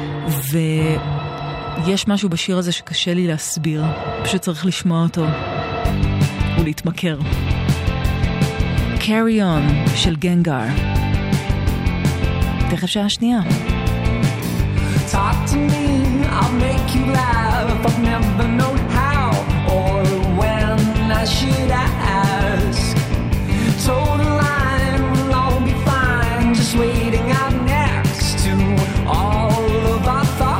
ויש משהו בשיר הזה שקשה לי להסביר, פשוט צריך לשמוע אותו ולהתמכר. Carry On של גנגר. תכף שעה שנייה. Talk to me, I'll make you laugh. I've never known how or when I should ask. Told a line, we'll all be fine, just waiting out next to all of our thoughts.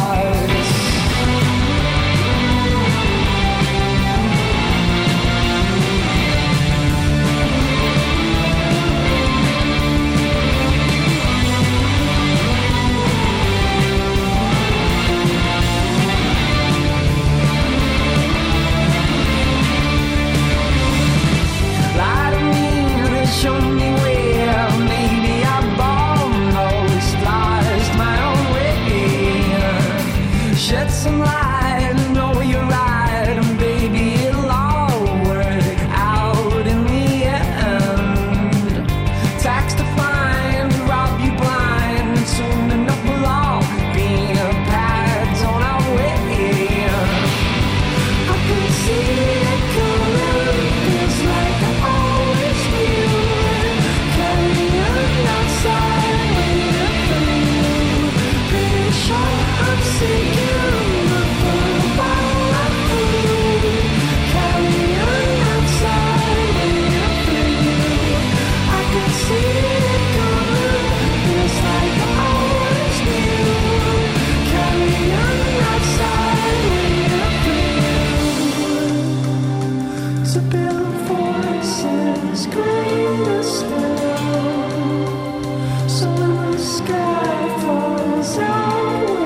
Show me where, maybe I've almost lost my own way. Shed some light, I know you're right, and baby it'll all work out in the end. Tax to find, rob you blind, soon enough we'll all be paths on our way. I can see it coming, it's like I always knew. I'm seeing you, but all I do, carry on outside, waiting for you. I can see it coming, it's like I always knew. Carry on outside, waiting for you. To build forces greater still, so when the sky falls out.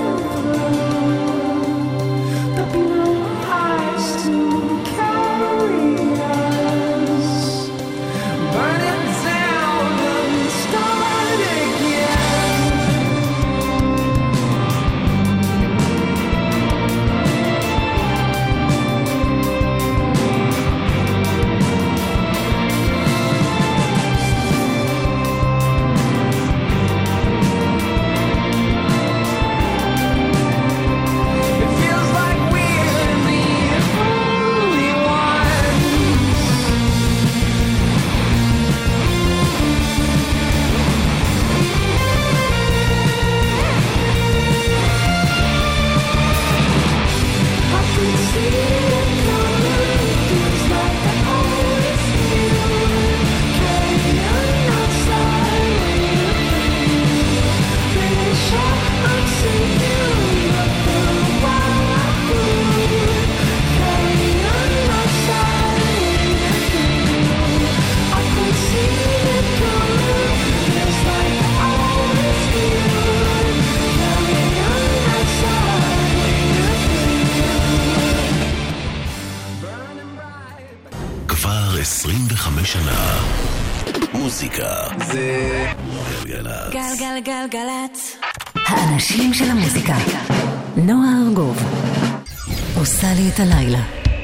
עשרים וחמש שנה מוזיקה זה גלגלצ. גלגלגלגלצ. האנשים של המוזיקה. נועה ארגוב. עושה לי את הלילה.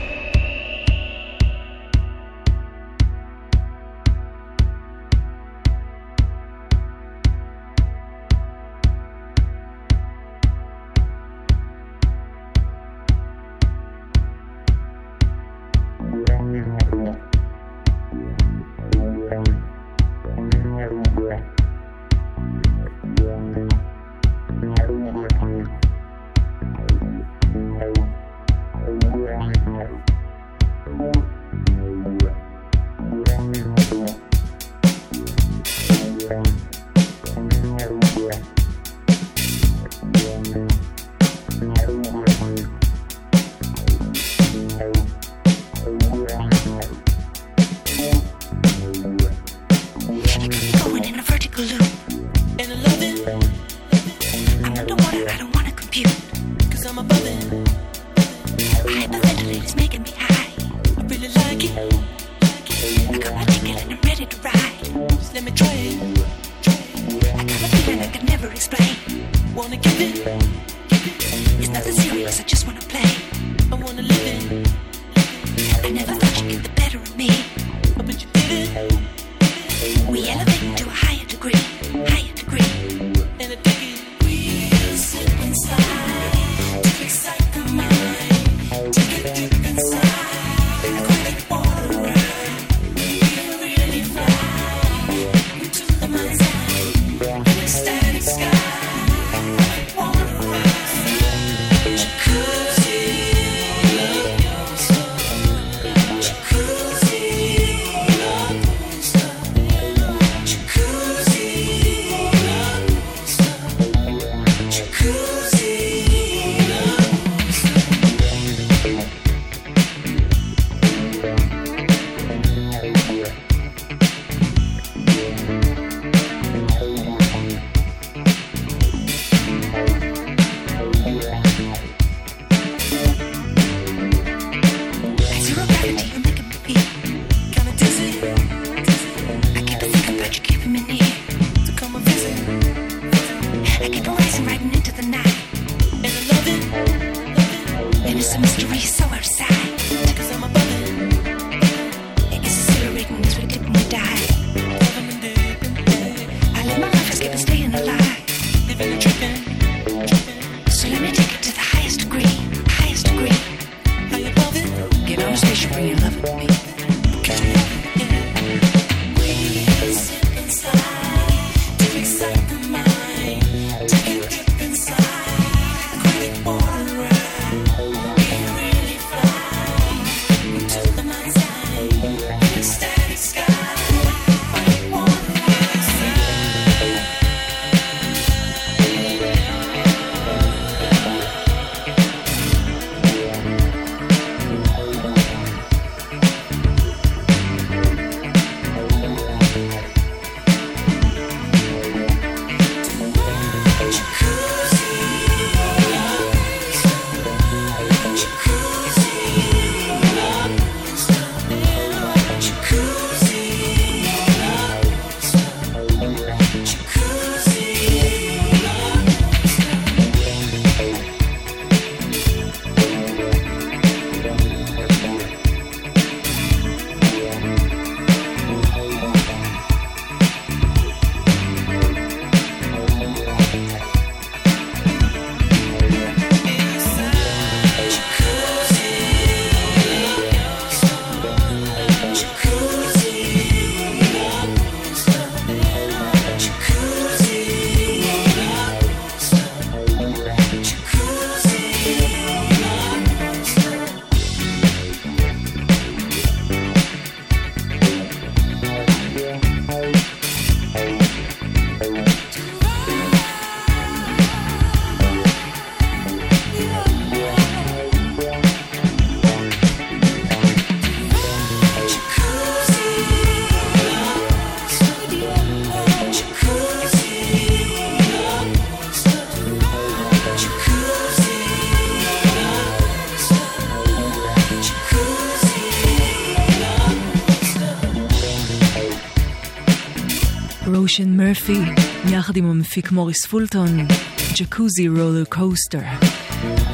רושן מרפי, יחד עם המפיק מוריס פולטון, ג'קוזי רולר קוסטר.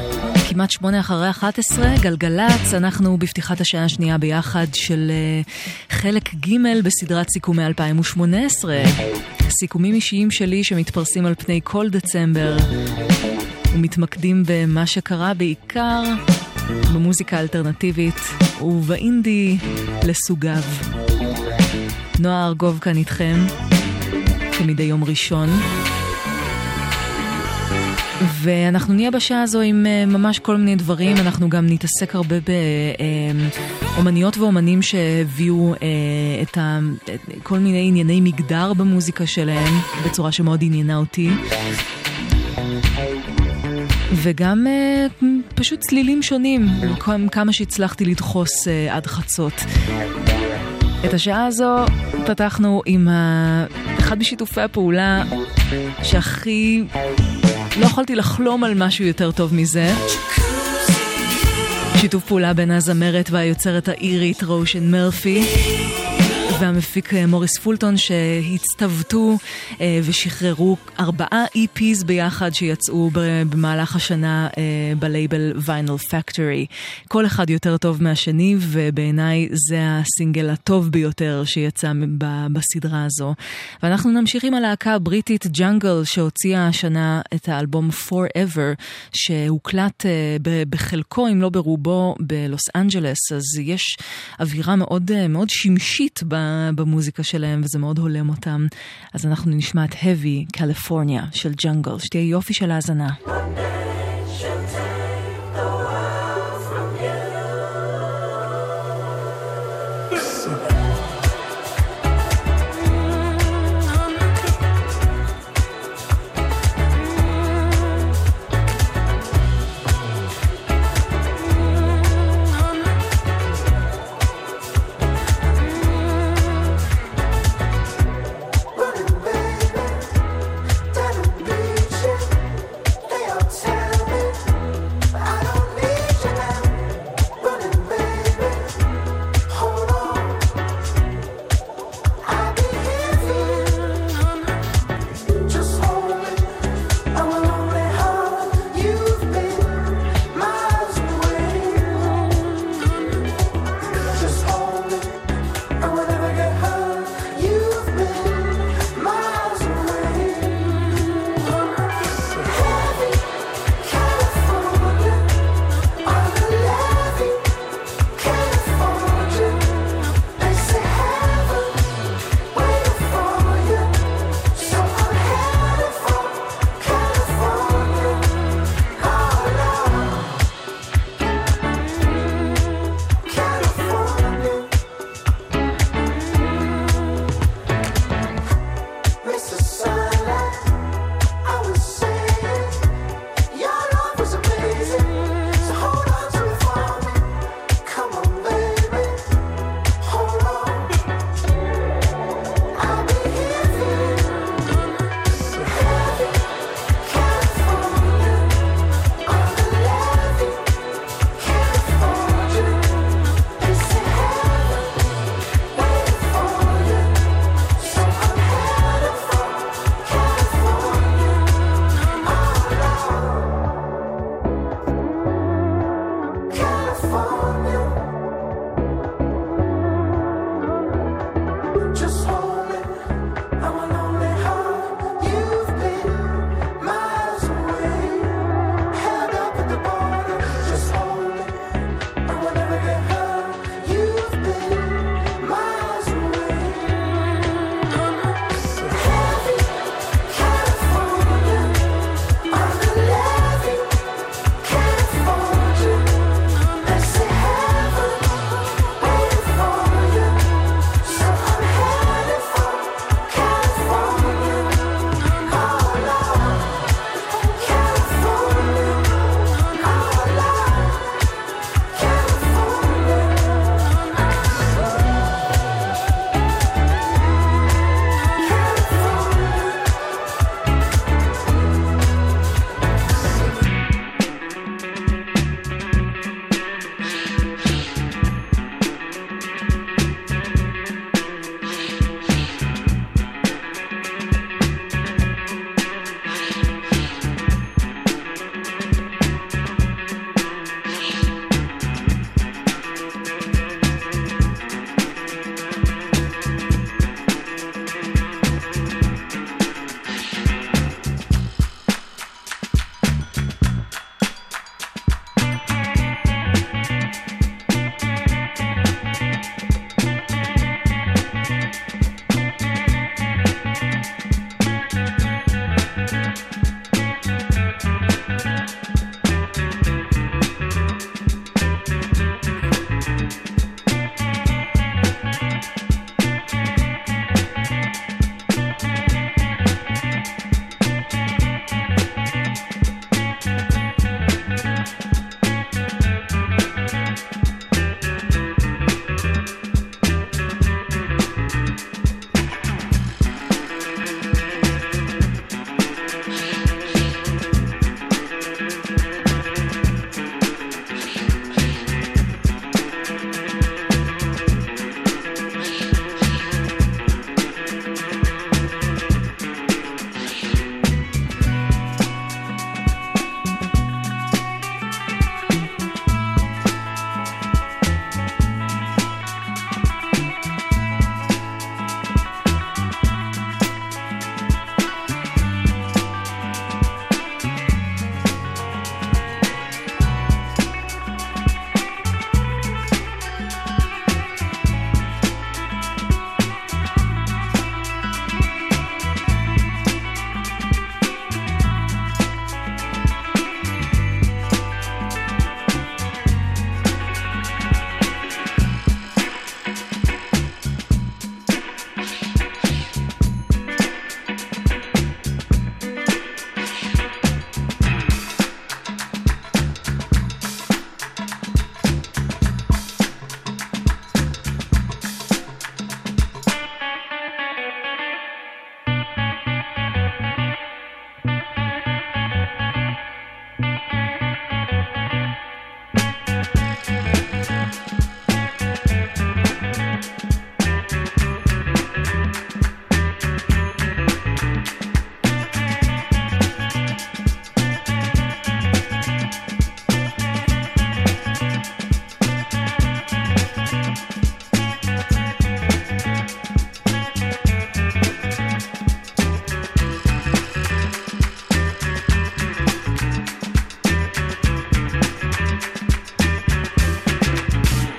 כמעט שמונה אחרי אחת עשרה, גלגלץ, אנחנו בפתיחת השעה השנייה ביחד של uh, חלק ג' בסדרת סיכומי אלפיים ושמונה עשרה. סיכומים אישיים שלי שמתפרסים על פני כל דצמבר ומתמקדים במה שקרה בעיקר במוזיקה האלטרנטיבית ובאינדי לסוגיו. נועה ארגוב כאן איתכם כמדי יום ראשון, ואנחנו נהיה בשעה הזו עם ממש כל מיני דברים. אנחנו גם נתעסק הרבה באומניות ואומנים שהביאו את כל מיני ענייני מגדר במוזיקה שלהם בצורה שמאוד עניינה אותי, וגם פשוט צלילים שונים, כמה שהצלחתי לדחוס עד חצות. את השעה הזו פתחנו עם אחד משיתופי הפעולה שהכי לא יכולתי לחלום על משהו יותר טוב מזה. שיתוף פעולה בין הזמרת והיוצרת האירית רושן מרפי והמפיק מוריס פולטון, שהצטוותו ושחררו ארבעה אי פיז ביחד שיצאו במהלך השנה בלייבל ויינל פקטורי. כל אחד יותר טוב מהשני, ובעיניי זה הסינגל הטוב ביותר שיצא בסדרה הזו. ואנחנו נמשיך עם הלהקה הבריטית ג'אנגל, שהוציאה השנה את האלבום Forever, שהוקלט בחלקו אם לא ברובו בלוס אנג'לס. אז יש אווירה מאוד מאוד שמשית ב במוזיקה שלהם, וזה מאוד הולם אותם. אז אנחנו נשמע את Heavy California של ג'אנגל. שתהיה יופי של האזנה. Time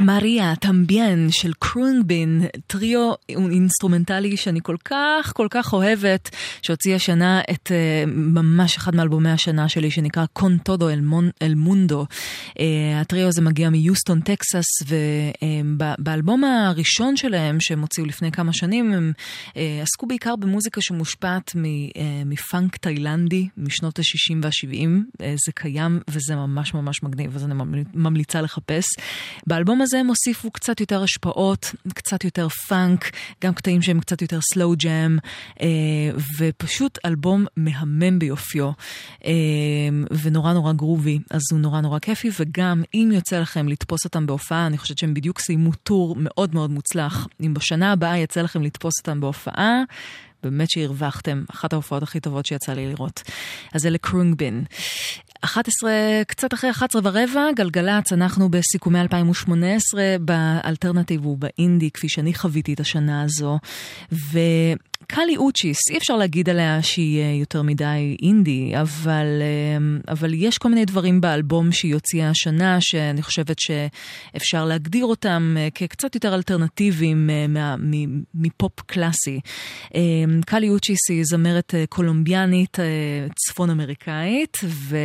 מריה טמביין של קרונגבין, טריו אינסטרומנטלי שאני כל כך כל כך אוהבת, שהוציא השנה את uh, ממש אחד מאלבומי השנה שלי שנקרא קון טודו אל מונדו. uh, הטריו הזה מגיע מיוסטון טקסס, ובאלבום uh, הראשון שלהם שהם הוציאו לפני כמה שנים הם uh, עסקו בעיקר במוזיקה שמושפעת מ, uh, מפאנק תאילנדי משנות ה-שישים וה-שבעים. uh, זה קיים וזה ממש ממש מגניב, אז אני ממליצה לחפש. באלבום הזה הם הוסיפו קצת יותר השפעות, קצת יותר פאנק, גם קטעים שהם קצת יותר סלואו ג'אם, ופשוט אלבום מהמם ביופיו, ונורא נורא גרובי, אז הוא נורא נורא כיפי, וגם אם יוצא לכם לתפוס אותם בהופעה, אני חושבת שהם בדיוק סיימו טור מאוד מאוד מוצלח. אם בשנה הבאה יצא לכם לתפוס אותם בהופעה, באמת שהרווחתם, אחת ההופעות הכי טובות שיצא לי לראות. אז אלה קרונגבין. אחת עשרה, קצת אחרי אחת עשרה ורבע, גלגלץ, אנחנו בסיכומי אלפיים שמונה עשרה, באלטרנטיב ובאינדי, כפי שאני חוויתי את השנה הזו, ו... קלי אוצ'יס, אי אפשר להגיד עליה שהיא יותר מדי אינדי, אבל, אבל יש כל מיני דברים באלבום שהיא הוציאה השנה, שאני חושבת שאפשר להגדיר אותם כקצת יותר אלטרנטיביים מפופ קלאסי. קלי אוצ'יס היא זמרת קולומביאנית צפון אמריקאית,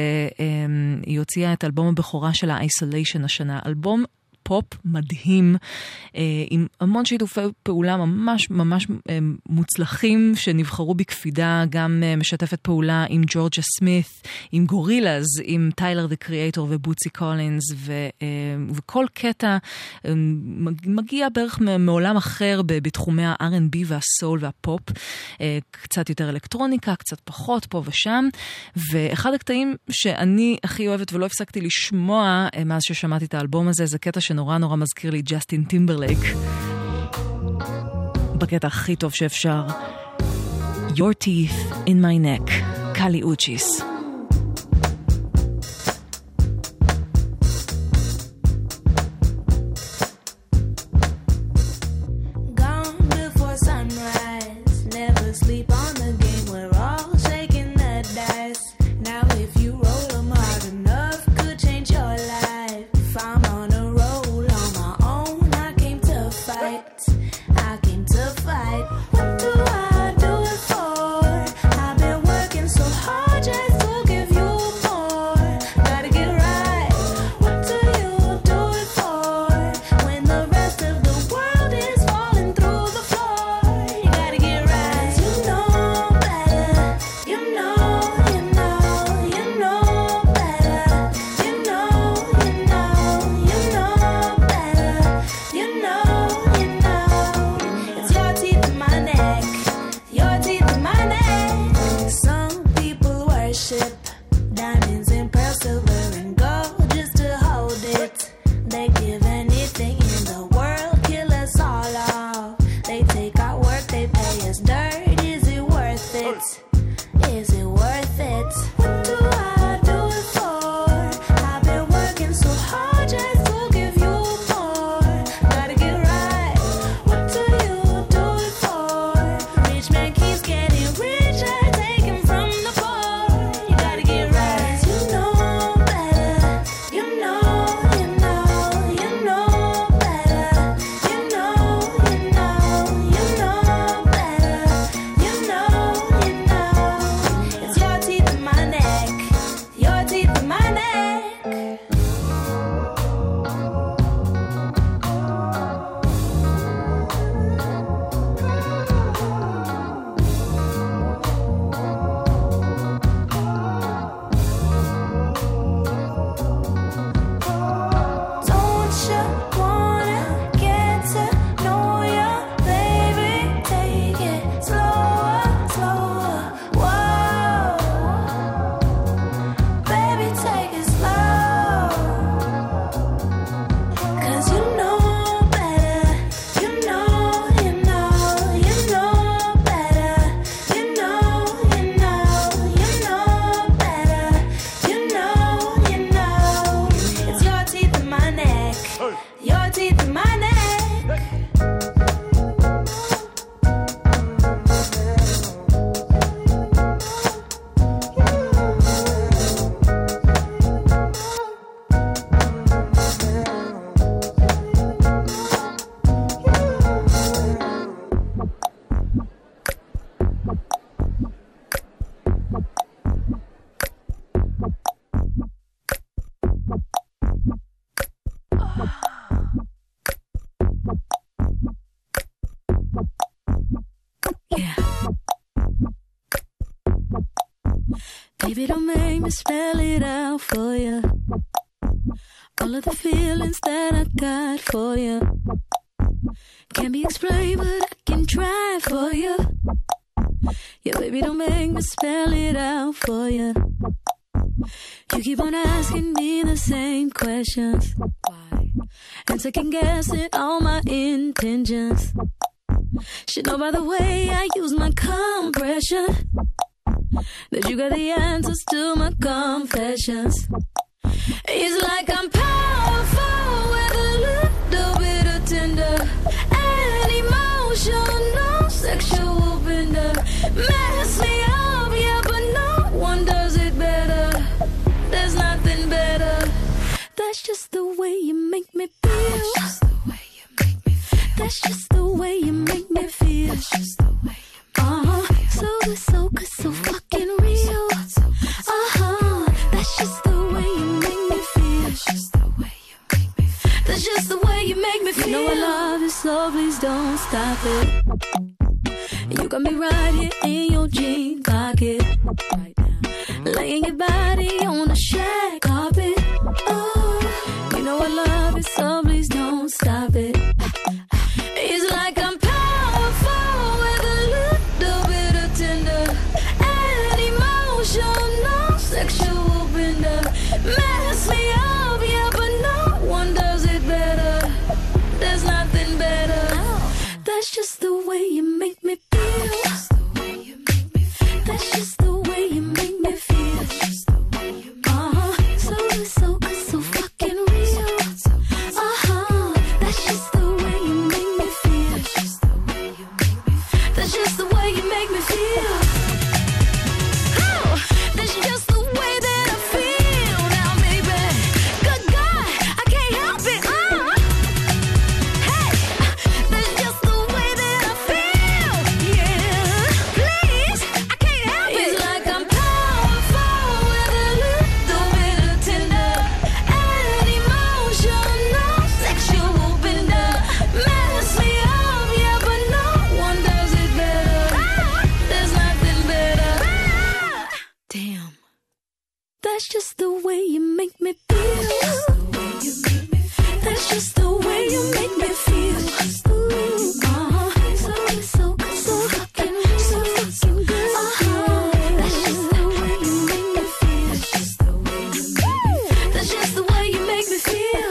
והיא הוציאה את אלבום הבכורה שלה, Isolation השנה, אלבום פופ מדהים, עם המון שיתופי פעולה ממש ממש מוצלחים שנבחרו בקפידה, גם משתפת פעולה עם ג'ורג'ה סמית, עם גורילאז, עם טיילר דה קריאטור ובוצי קולינס, וכל קטע מגיע בערך מעולם אחר בתחומי ה-אר אנד בי והסול והפופ, קצת יותר אלקטרוניקה, קצת פחות פה ושם, ואחד הקטעים שאני הכי אוהבת ולא הפסקתי לשמוע מאז ששמעתי את האלבום הזה, זה קטע שנורא נורא מזכיר לי ג'סטין טימברלייק, בקטע הכי טוב שאפשר. Your teeth in my neck, קלי אוצ'יס. What do I do it for? I've been working so hard just to Yeah. Baby, don't make me spell it out for you. All of the feelings that I got for you can't be explained, but I can try for you. Yeah, baby, don't make me spell it out for you. You keep on asking me the same questions. Why? And second guessing all my intentions. Should know by the way I use my compression that you got the answers to my confessions. It's like I'm powerful with a little bit of tender and emotional sexual bender. Mess me up, yeah, but no one does it better. There's nothing better. That's just the way you make me feel. That's just the way you make me feel. That's just the way you make me feel. Uh-huh. So good, so good, so fucking real. Uh-huh. That's just the way you make me feel. That's just the way you make me feel. That's just the way you make me feel. You know I love you, so please don't stop it. You got me right here in your jean pocket. Right now. Laying your body on the shag carpet. Oh, you know I love you, so please don't stop it. It's like I'm powerful with a little bit of tender and emotional sexual bender. Mess me up, yeah, but no one does it better. There's nothing better. That's just the way you make me feel. That's just the way you make me feel. Uh-huh. So good, so good, so fucking real. Uh-huh. That's just the way you make me feel. That's just the way you make me feel. Oh, that's just the way that I feel now, baby. Good God, I can't help it. Uh. Hey, that's just the way that I feel. Yeah, please, I can't help it. It's like I'm powerful with a little bit of tender and emotional sexual bender. Mess me up, yeah, but no one does it better. There's nothing better. Damn. That's just the way you make me feel. That's just the way you make me feel. Uh-huh. So good, so good, so fucking, so fucking good. Uh-huh. That's just the way you make me feel. That's just the way you make me feel.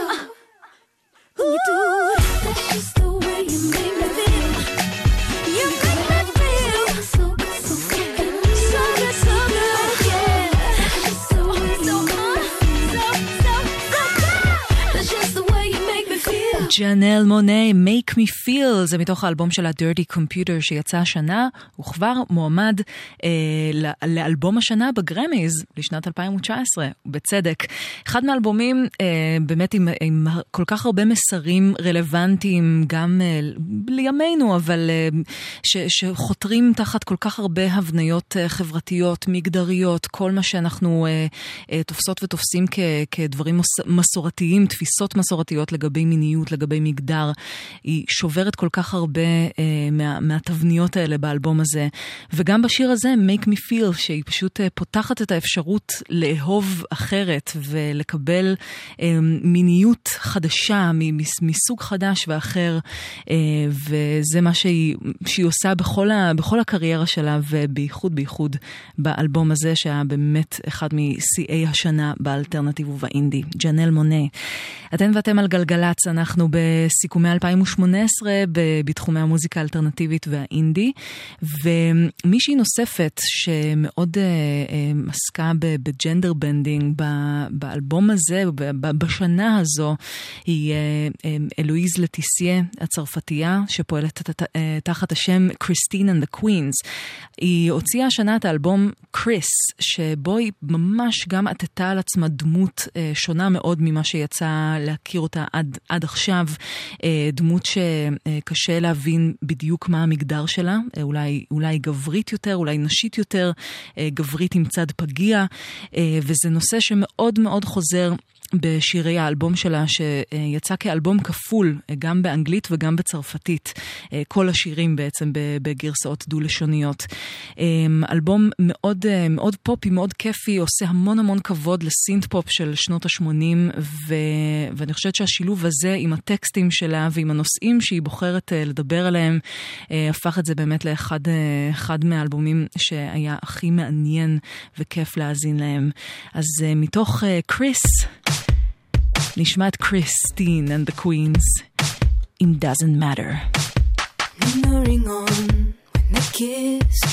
You do it. That's just the way you make me feel. You make me feel so good, so fucking, so good, so good. Yeah. That's just the way you make me feel. So, so, so good. That's just the way you make me feel. ג'אנל מונה, Make Me Feel, זה מתוך האלבום של ה-Dirty Computer שיצא השנה, הוא כבר מועמד אה, לאלבום השנה בגרמיז לשנת אלפיים תשע עשרה, בצדק. אחד מהאלבומים אה, באמת עם, עם כל כך הרבה מסרים רלוונטיים, גם אה, לימינו, אבל אה, ש, שחותרים תחת כל כך הרבה הבניות אה, חברתיות, מגדריות, כל מה שאנחנו אה, אה, תופסות ותופסים כ, כדברים מוס, מסורתיים, תפיסות מסורתיות לגבי מיניות, לגבי מגדר, היא שוברת כל כך הרבה אה, מה, מהתבניות האלה באלבום הזה, וגם בשיר הזה, Make Me Feel, שהיא פשוט אה, פותחת את האפשרות לאהוב אחרת, ולקבל אה, מיניות חדשה, מסוג חדש ואחר, אה, וזה מה שהיא, שהיא עושה בכל, ה, בכל הקריירה שלה, ובייחוד בייחוד באלבום הזה, שהיה באמת אחד משיאי השנה באלטרנטיב ובאינדי. ג'אנל מונה. אתן ואתם על גלגלץ, אנחנו בסיכומי אלפיים שמונה עשרה בתחומי המוזיקה האלטרנטיבית והאינדי, ומישהי נוספת שמאוד uh, עסקה בג'נדר בנדינג באלבום הזה, בשנה הזו, היא uh, אלואיז לטיסיה הצרפתייה, שפועלת תחת השם Christine and the Queens. היא הוציאה השנה את האלבום קריס, שבו היא ממש גם עטתה על עצמה דמות uh, שונה מאוד ממה שיצא להכיר אותה עד, עד עכשיו, דמות שקשה להבין בדיוק מה המגדר שלה, אולי, אולי גברית יותר, אולי נשית יותר, גברית עם צד פגיע, וזה נושא שמאוד מאוד חוזר בשירי האלבום שלה, שיצא כאלבום כפול, גם באנגלית וגם בצרפתית. כל השירים בעצם בגרסאות דו-לשוניות. אלבום מאוד, מאוד פופי, מאוד כיפי, עושה המון המון כבוד לסינט פופ של שנות ה-שמונים, ו... ואני חושבת שהשילוב הזה עם הטקסטים שלה ועם הנושאים שהיא בוחרת לדבר עליהם, הפך את זה באמת לאחד אחד מהאלבומים שהיה הכי מעניין וכיף להאזין להם. אז מתוך קריס, נשמע את קריסטין and the Queens, It Doesn't Matter. Lingering on when they kissed,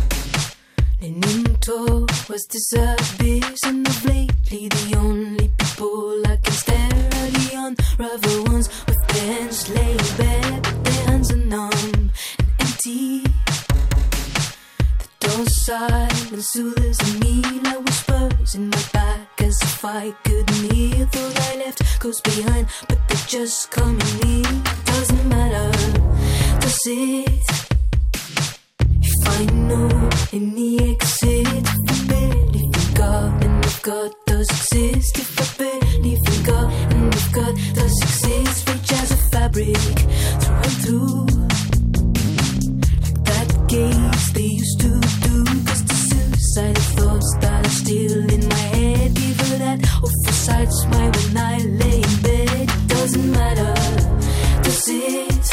leaning towards this abyss, and of lately the only people I can stare are the unravel ones with their hands laid bare, but their hands are numb and empty. The door silence soothes me like whispers in my back, as if I couldn't hear. Thought I left goes behind, but they're just coming in. Doesn't matter, does it? If I know in the exit, if I believe in God and if God does exist, if I believe in God and if God does exist, reach as a fabric through and through, like that gaze they used to do. Cause the suicidal thoughts that are still in my head, give her that awful side smile when I lay in bed. It doesn't matter, does it?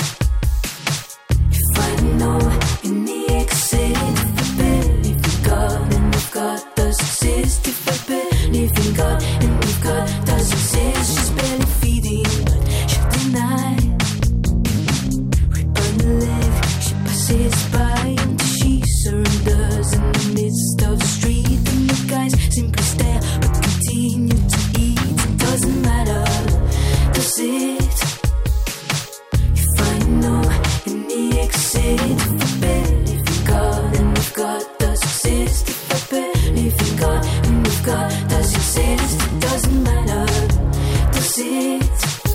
If I know in the exit, if I believe in God and if God does exist, if I believe in God and if God does exist, she's barely feeding but she'll deny. Right on the leg she passes by until she surrenders in the midst of the street, and the guys simply stare but continue to eat. It doesn't matter, does it? If I know in the exit, if I believe in God and if God does exist, if I believe in God and if God does exist, it doesn't matter, does it?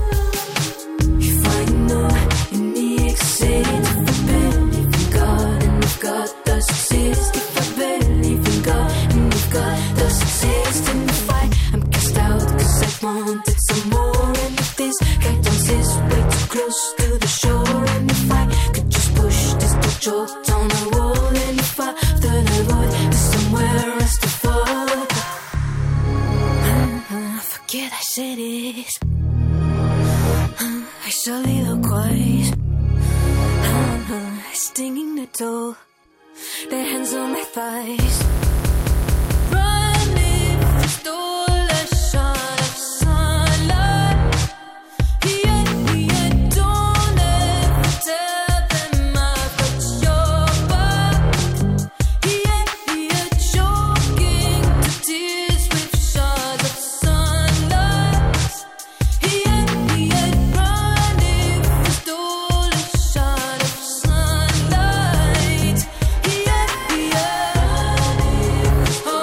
If I know in the exit, if I believe in God and if God does exist, if I believe in God and if God does exist, and if I am cast out cause I wanted some more, and if this guy turns his way too close to the shore, and if I could just push this door down the wall, and if I thought I would, there's somewhere else to fall. uh, Forget I said it, uh, I soliloquize, uh, stinging the toe, their hands on my thighs. Running for stole a shot of sunlight. Yeah, yeah, don't ever tell them I've got your back. Yeah, yeah, choking the tears with shards of sunlight. Yeah, yeah, running for stole a shot of sunlight. Yeah, yeah, oh,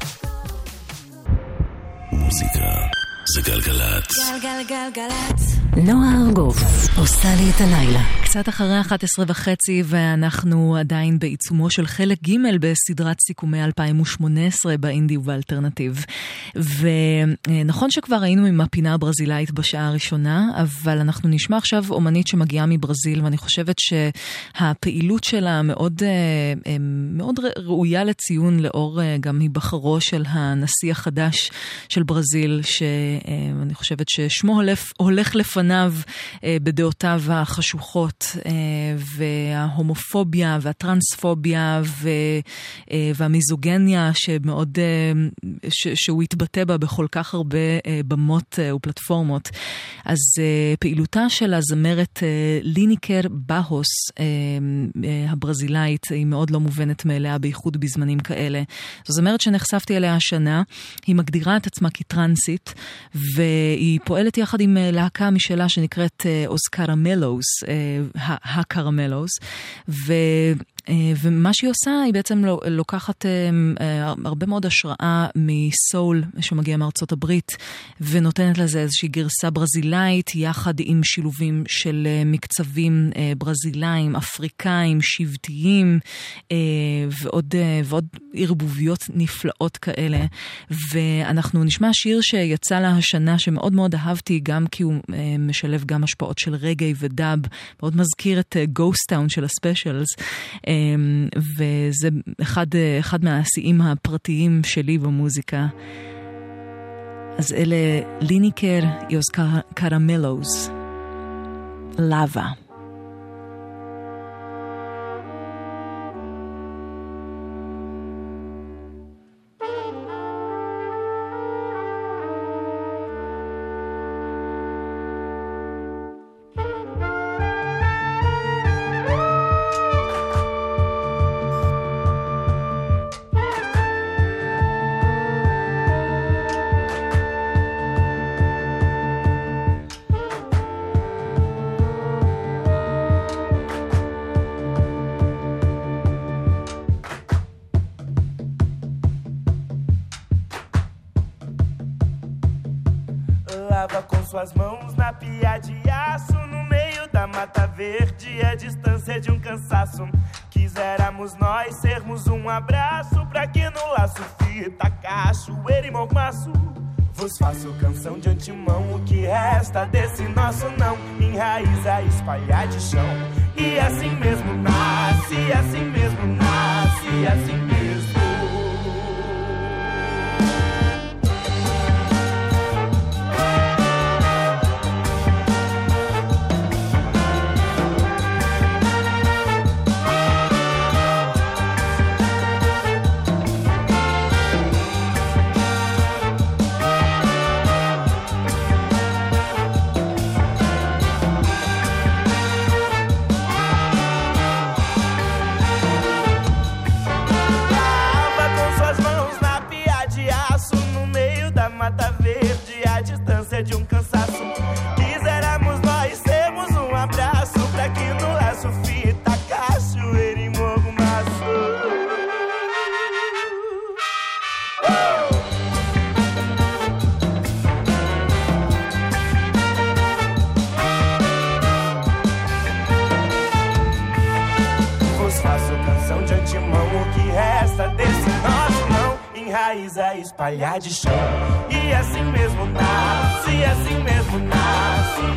מוזיקה זה גלגלצ. גלגלגלגלצ. נועה ארגוב עושה לי את הלילה. קצת אחרי אחת עשרה וחצי ואנחנו עדיין בעיצומו של חלק ג' בסדרת סיכומי אלפיים ושמונה עשרה באינדי ובאלטרנטיב. ונכון שכבר היינו עם הפינה הברזילאית בשעה הראשונה, אבל אנחנו נשמע עכשיו אומנית שמגיעה מברזיל, ואני חושבת שהפעילות שלה מאוד, מאוד ראויה לציון לאור גם היבחרו של הנשיא החדש של ברזיל, שאני חושבת ששמו הולך, הולך לפניו בדעותיו החשוכות, וההומופוביה והטרנספוביה והמיזוגניה שמאוד, שהוא התבטא בה בכל כך הרבה במות ופלטפורמות. אז פעילותה של הזמרת ליניקר בהוס הברזילאית היא מאוד לא מובנת מאליה, בייחוד בזמנים כאלה. זו זמרת שנחשפתי אליה השנה, היא מגדירה את עצמה כטרנסית, והיא פועלת יחד עם להקה משלה שנקראת אוז קרמלוס, הקרמלוס, ו... ומה שהיא עושה היא בעצם לוקחת הרבה מאוד השראה מסול שמגיע מארצות הברית, ונותנת לזה איזושהי גרסה ברזילאית יחד עם שילובים של מקצבים ברזילאים, אפריקאים, שבטיים ועוד, ועוד ערבוביות נפלאות כאלה. ואנחנו נשמע שיר שיצא לה השנה שמאוד מאוד אהבתי, גם כי הוא משלב גם השפעות של רגעי ודאב, מאוד מזכיר את גוסט טאון של הספיישלס, וזה אחד, אחד מהשיאים הפרטיים שלי במוזיקה. אז אלה ליניקר יוז קרמלוס, לava. Suas mãos na pia de aço, no meio da mata verde, a distância de um cansaço. Quiséramos nós sermos um abraço, pra que no laço fita, cachoeira e mormaço. Vos faço canção de antemão, o que resta desse nosso não, enraiza e espalhar de chão. E assim mesmo nasce, assim mesmo nasce, assim mesmo. De um cansaço, quiséramos nós sermos um abraço, pra que no laço fita, cachoeira e mormaço. Vos faço canção de antemão, o que resta desse nosso não, enraiza e espalhar de chão. E assim mesmo nasce, e assim mesmo nasce.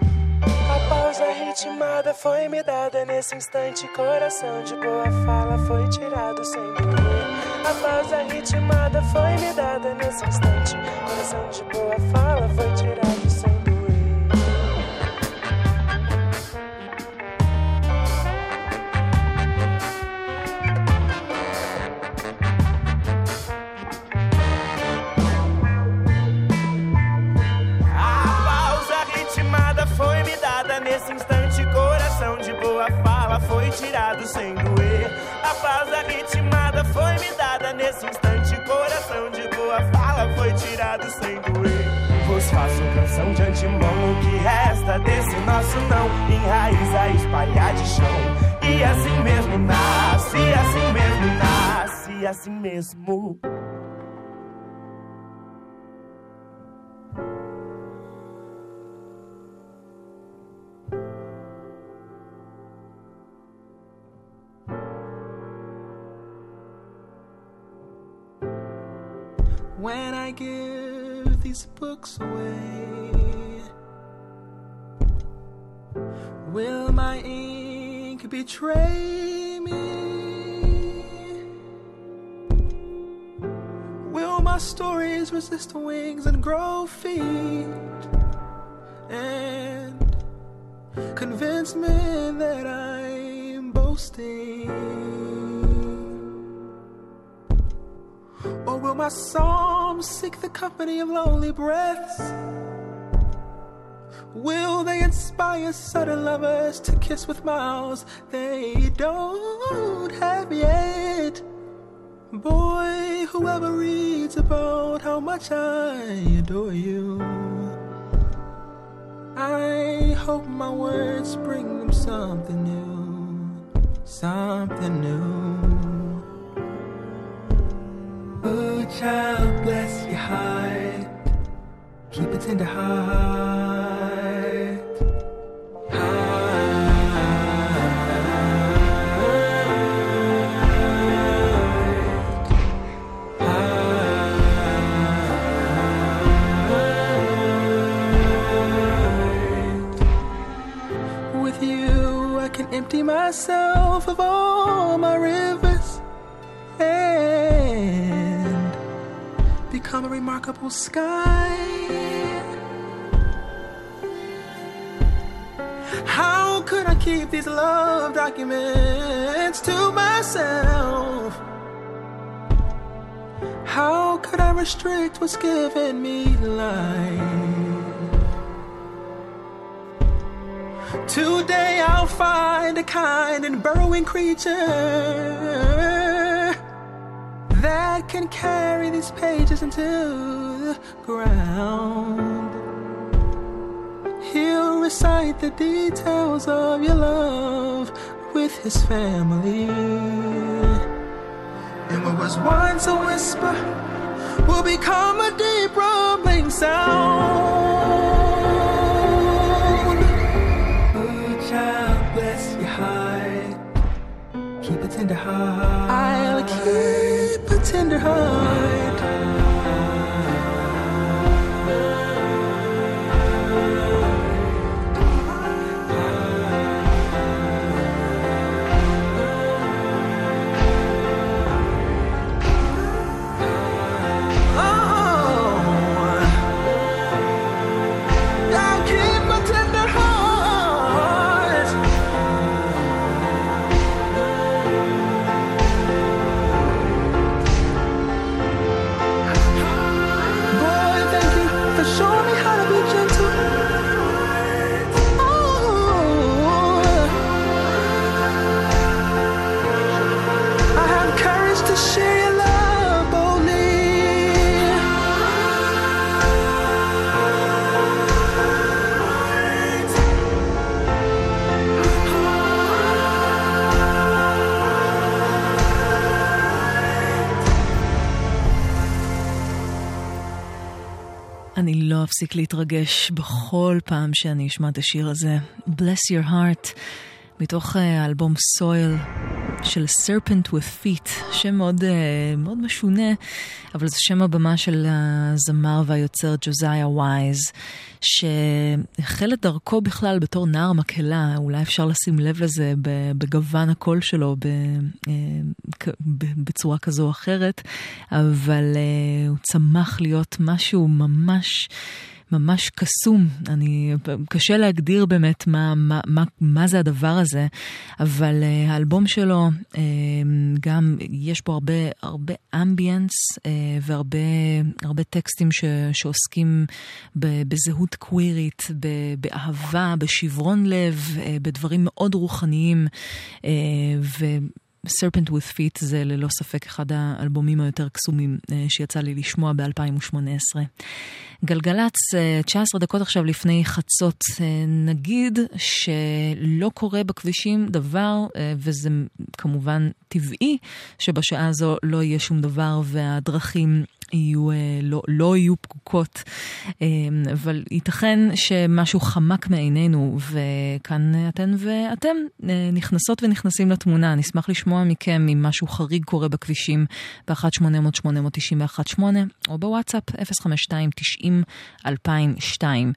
Foi me dada nesse instante, coração de boa fala. foi tirado sem doer. A pausa ritmada foi me dada nesse instante. Coração de boa fala foi tirado sem doer. Nesse instante, coração de boa fala foi tirado sem doer. A pausa ritmada foi me dada. Nesse instante, coração de boa fala foi tirado sem doer. Vos faço canção de antemão. O que resta desse nosso não enraiza, espalhar de chão. E assim mesmo nasce, assim mesmo nasce, assim mesmo. When I give these books away, will my ink betray me? Will my stories resist wings and grow feet and convince men that I'm boasting? Or will my psalms seek the company of lonely breaths? Will they inspire sudden lovers to kiss with mouths they don't have yet? Boy, whoever reads about how much I adore you, I hope my words bring them something new, something new. Oh, child, bless your heart. Keep a tender heart. With you, I can empty myself of all my rivers and become a remarkable sky. How could I keep these love documents to myself? How could I restrict what's given me life? Today I'll find a kind and burrowing creature that can carry these pages into the ground. He'll recite the details of your love with his family. And what was once a whisper will become a deep rumbling sound. Oh, child, bless your heart. Keep a tender heart. I'll keep a tender heart. אני לא אפסיק להתרגש בכל פעם שאני אשמע את השיר הזה. Bless Your Heart, מתוך האלבום Soil, של Serpent with Feet, שם מאוד, מאוד משונה, אבל זה שם הבמה של הזמר והיוצר ג'וזאיה ווייז, שהחל את דרכו בכלל בתור נער מקהלה, אולי אפשר לשים לב לזה בגוון הקול שלו בצורה כזו או אחרת, אבל הוא צמח להיות משהו ממש ממש קסום. אני, קשה להגדיר באמת מה, מה, מה, מה זה הדבר הזה, אבל uh, האלבום שלו, uh, גם יש בו הרבה, הרבה אמביאנס, uh, והרבה, הרבה טקסטים ש, שעוסקים ב, בזהות קווירית, ב, באהבה, בשברון לב, uh, בדברים מאוד רוחניים, uh, ו... Serpent with Feet זה ללא ספק אחד האלבומים היותר קסומים שיצא לי לשמוע ב-אלפיים שמונה עשרה. גלגלץ, תשע עשרה דקות עכשיו לפני חצות, נגיד שלא קורה בכבישים דבר, וזה כמובן טבעי שבשעה הזו לא יהיה שום דבר והדרכים יהיו, לא, לא יהיו פקוקות, אבל ייתכן שמשהו חמק מעינינו, וכאן אתן ואתם נכנסות ונכנסים לתמונה. נשמח לשמוע מכם אם משהו חריג קורה בכבישים ב-אחת שמונה אפס אפס שמונה תשע אחת שמונה או בוואטסאפ אפס חמש שתיים תשעים אלפיים ושתיים.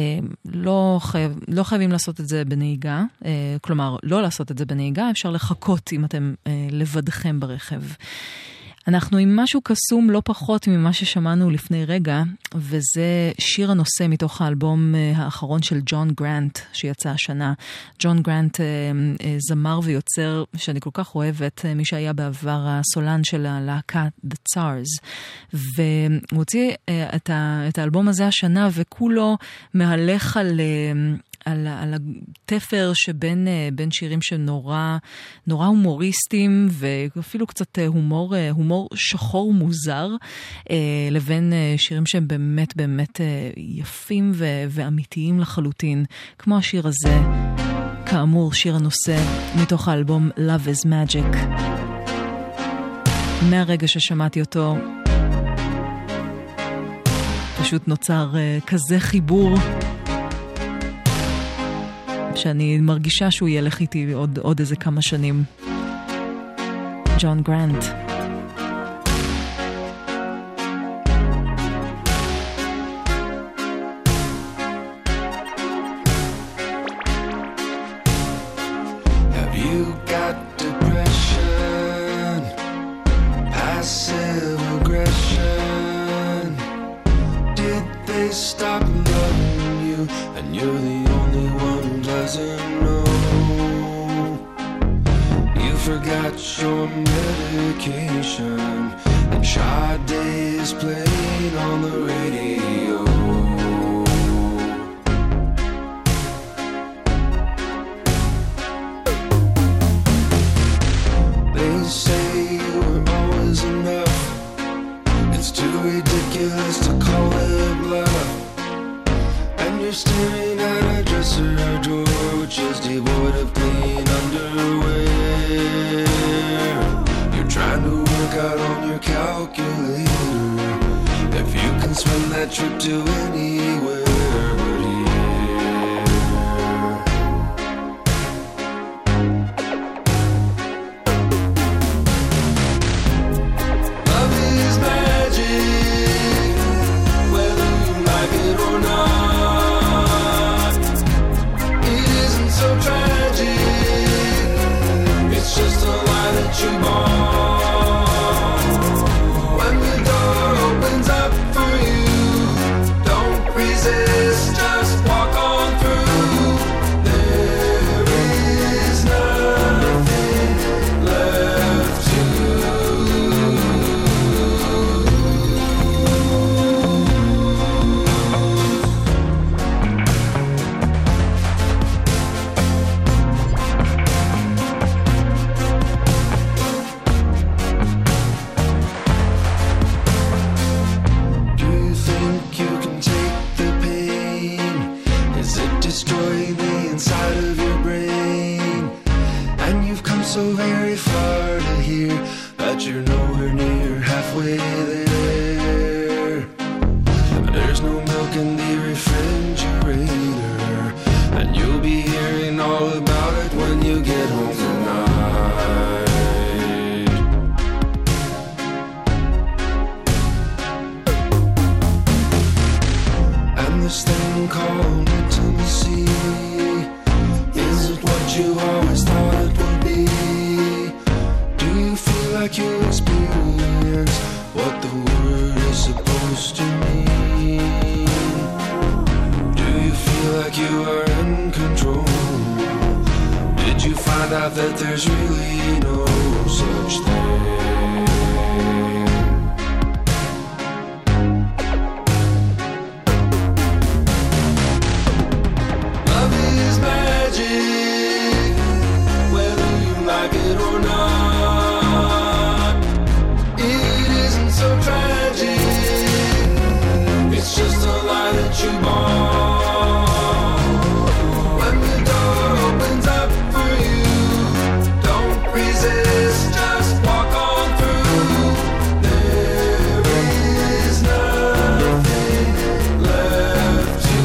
לא, חייב, לא חייבים לעשות את זה בנהיגה, כלומר לא לעשות את זה בנהיגה, אפשר לחכות אם אתם לבדכם ברכב. אנחנו עם משהו קסום לא פחות ממה ששמענו לפני רגע, וזה שיר הנושא מתוך האלבום האחרון של ג'ון גרנט שיצא השנה. ג'ון גרנט זמר ויוצר שאני כל כך אוהבת, מי שהיה בעבר הסולן של הלהקה The Tsars, והוא הוציא את, את האלבום הזה השנה, וכולו מהלך על... על, על התפר שבין בין שירים שנורא נורא הומוריסטים ואפילו קצת הומור, הומור שחור מוזר, לבין שירים שהם באמת באמת יפים ו, ואמיתיים לחלוטין, כמו השיר הזה, כאמור שיר הנושא מתוך האלבום Love is Magic. מהרגע ששמעתי אותו פשוט נוצר כזה חיבור שאני מרגישה שהוא ילך איתי עוד, עוד איזה כמה שנים. ג'ון גרנט. Have you got depression? Passive aggression? Did they stop loving you and you're the only one who doesn't know? You forgot your medication and Sade is playing on the radio. They say you were always enough. It's too ridiculous to call it bluff. And you're staring at a dresser door which is devoid of clean underwear. You're trying to work out on your calculator if you can swim that trip to anywhere but here. Love is magic, whether you like it or not. So tragic, it's just a lie that you bought. When the door opens up for you, don't resist, just walk on through. There is nothing left to so very far to here that you're nowhere near halfway there. There's no milk in the refrigerator, and you'll be hearing all about it when you get home tonight. called intimacy. Is it what you always thought it would be? Do you feel like you experience what the word is supposed to mean? Do you feel like you are in control? Did you find out that there's really no such thing? Love is magic, whether you like it or not. It isn't so tragic, it's just a lie that you bought. When the door opens up for you, don't resist, just walk on through. There is nothing left to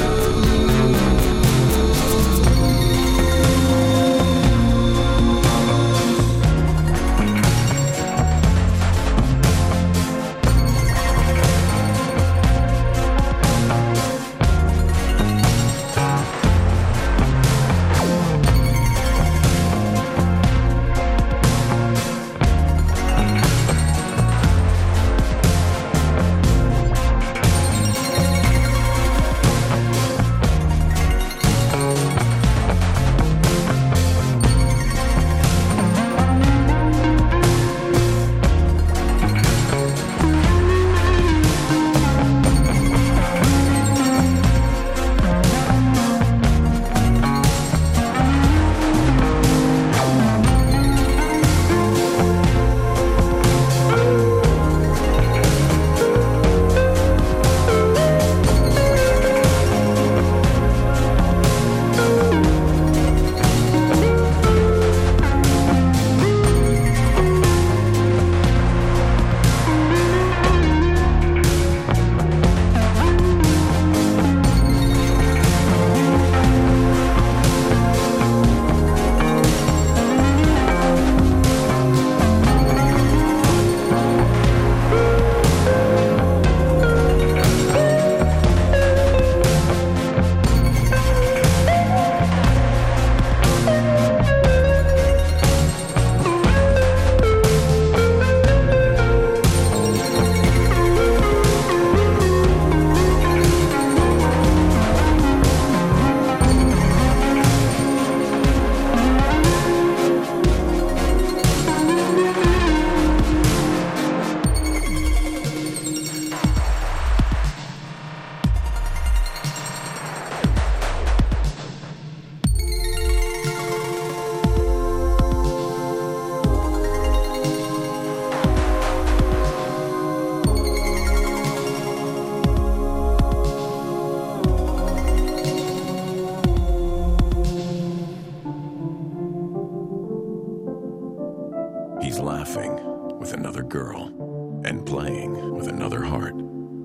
He's laughing with another girl and playing with another heart,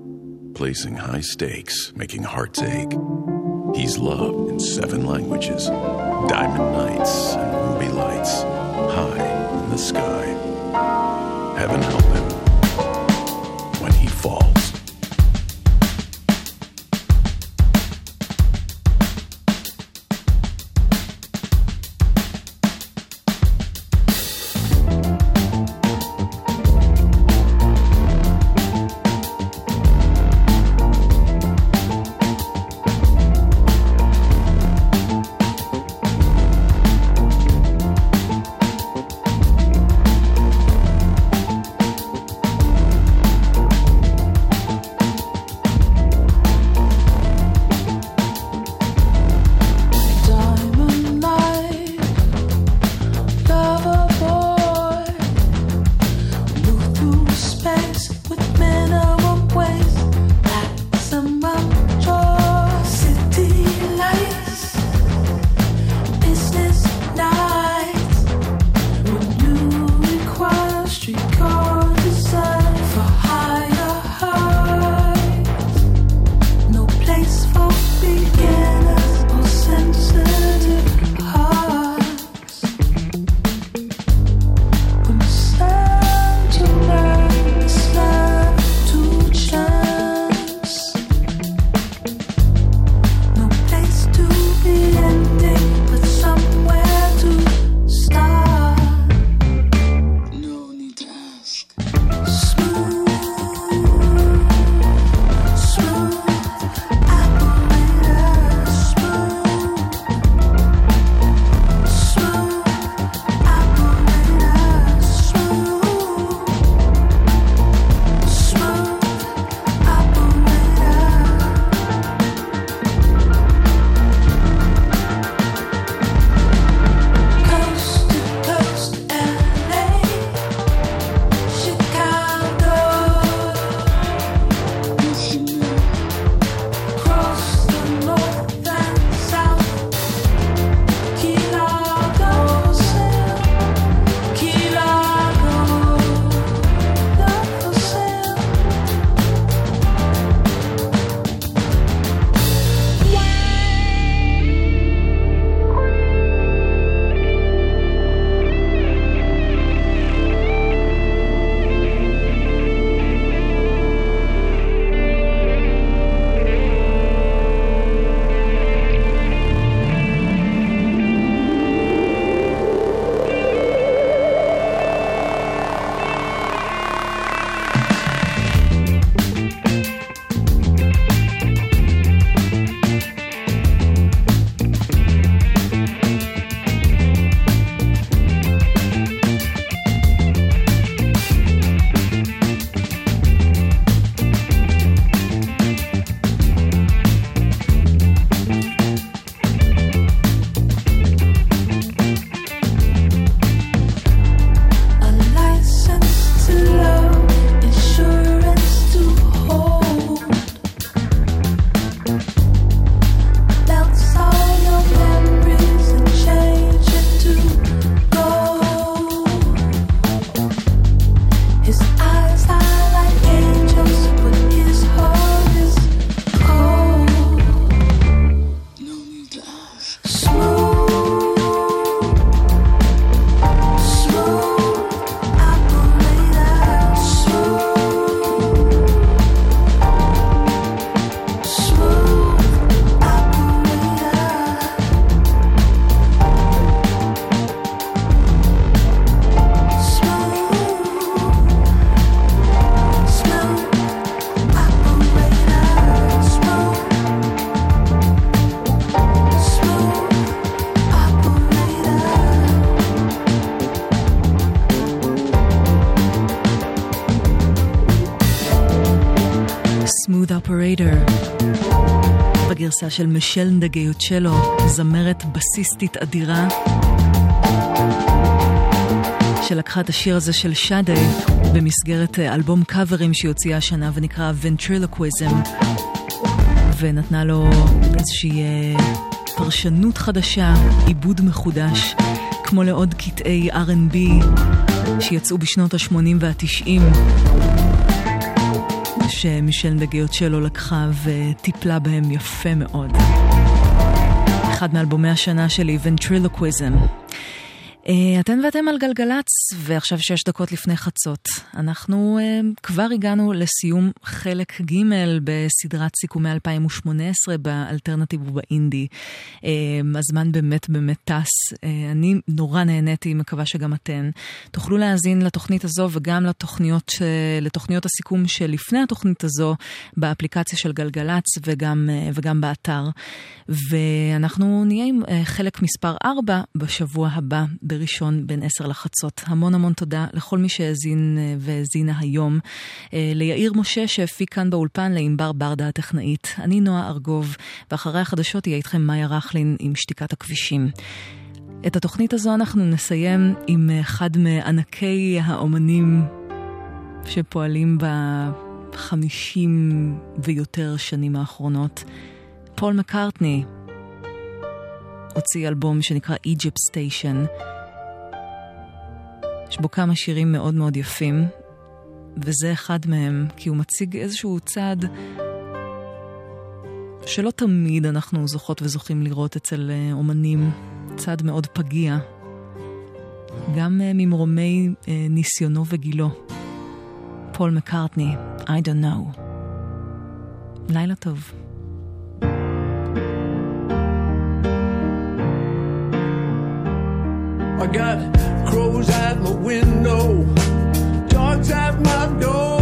placing high stakes, making hearts ache. He's loved in seven languages, diamond nights and ruby lights, high in the sky. Heaven help him when he falls. Operator, בגרסה של מישל נדגיוצ'לו, זמרת בסיסטית אדירה, שלקחה את השיר הזה של שדה במסגרת אלבום קאברים שהיא הוציאה השנה ונקרא Ventriloquism, ונתנה לו איזושהי פרשנות חדשה, עיבוד מחודש, כמו לעוד קטעי אר אנד בי שיצאו בשנות ה-שמונים וה-תשעים, שמישל נדגיוצ'לו לקחה וטיפלה בהם יפה מאוד. אחד מאלבומי השנה שלי, Ventriloquism. אתן ואתם על גלגלץ, ועכשיו שש דקות לפני חצות. אנחנו uh, כבר הגענו לסיום חלק ג' בסדרת סיכומי אלפיים ושמונה עשרה באלטרנטיב ובאינדי. Uh, הזמן באמת באמת טס. Uh, אני נורא נהניתי, מקווה שגם אתן. תוכלו להאזין לתוכנית הזו וגם לתוכניות, uh, לתוכניות הסיכום שלפני התוכנית הזו באפליקציה של גלגלץ וגם, uh, וגם באתר. ואנחנו נהיה עם uh, חלק מספר ארבע בשבוע הבא. בראשון בין עשר לחצות. המון המון תודה לכל מי שהאזין והאזינה היום. ליאיר משה שהפיק כאן באולפן, לאמבר ברדה הטכנאית. אני נועה ארגוב, ואחרי החדשות יהיה איתכם מאיה רכלין עם שתיקת הכבישים. את התוכנית הזו אנחנו נסיים עם אחד מענקי האומנים שפועלים בחמישים ויותר שנים האחרונות. פול מקארטני הוציא אלבום שנקרא Egypt Station. יש בו כמה שירים מאוד מאוד יפים, וזה אחד מהם, כי הוא מציג איזשהו צד שלא תמיד אנחנו זוכות וזוכים לראות אצל אומנים, צד מאוד פגיע, גם ממרומי ניסיונו וגילו. פול מקארטני, I don't know. לילה טוב. I got crows at my window, dogs at my door.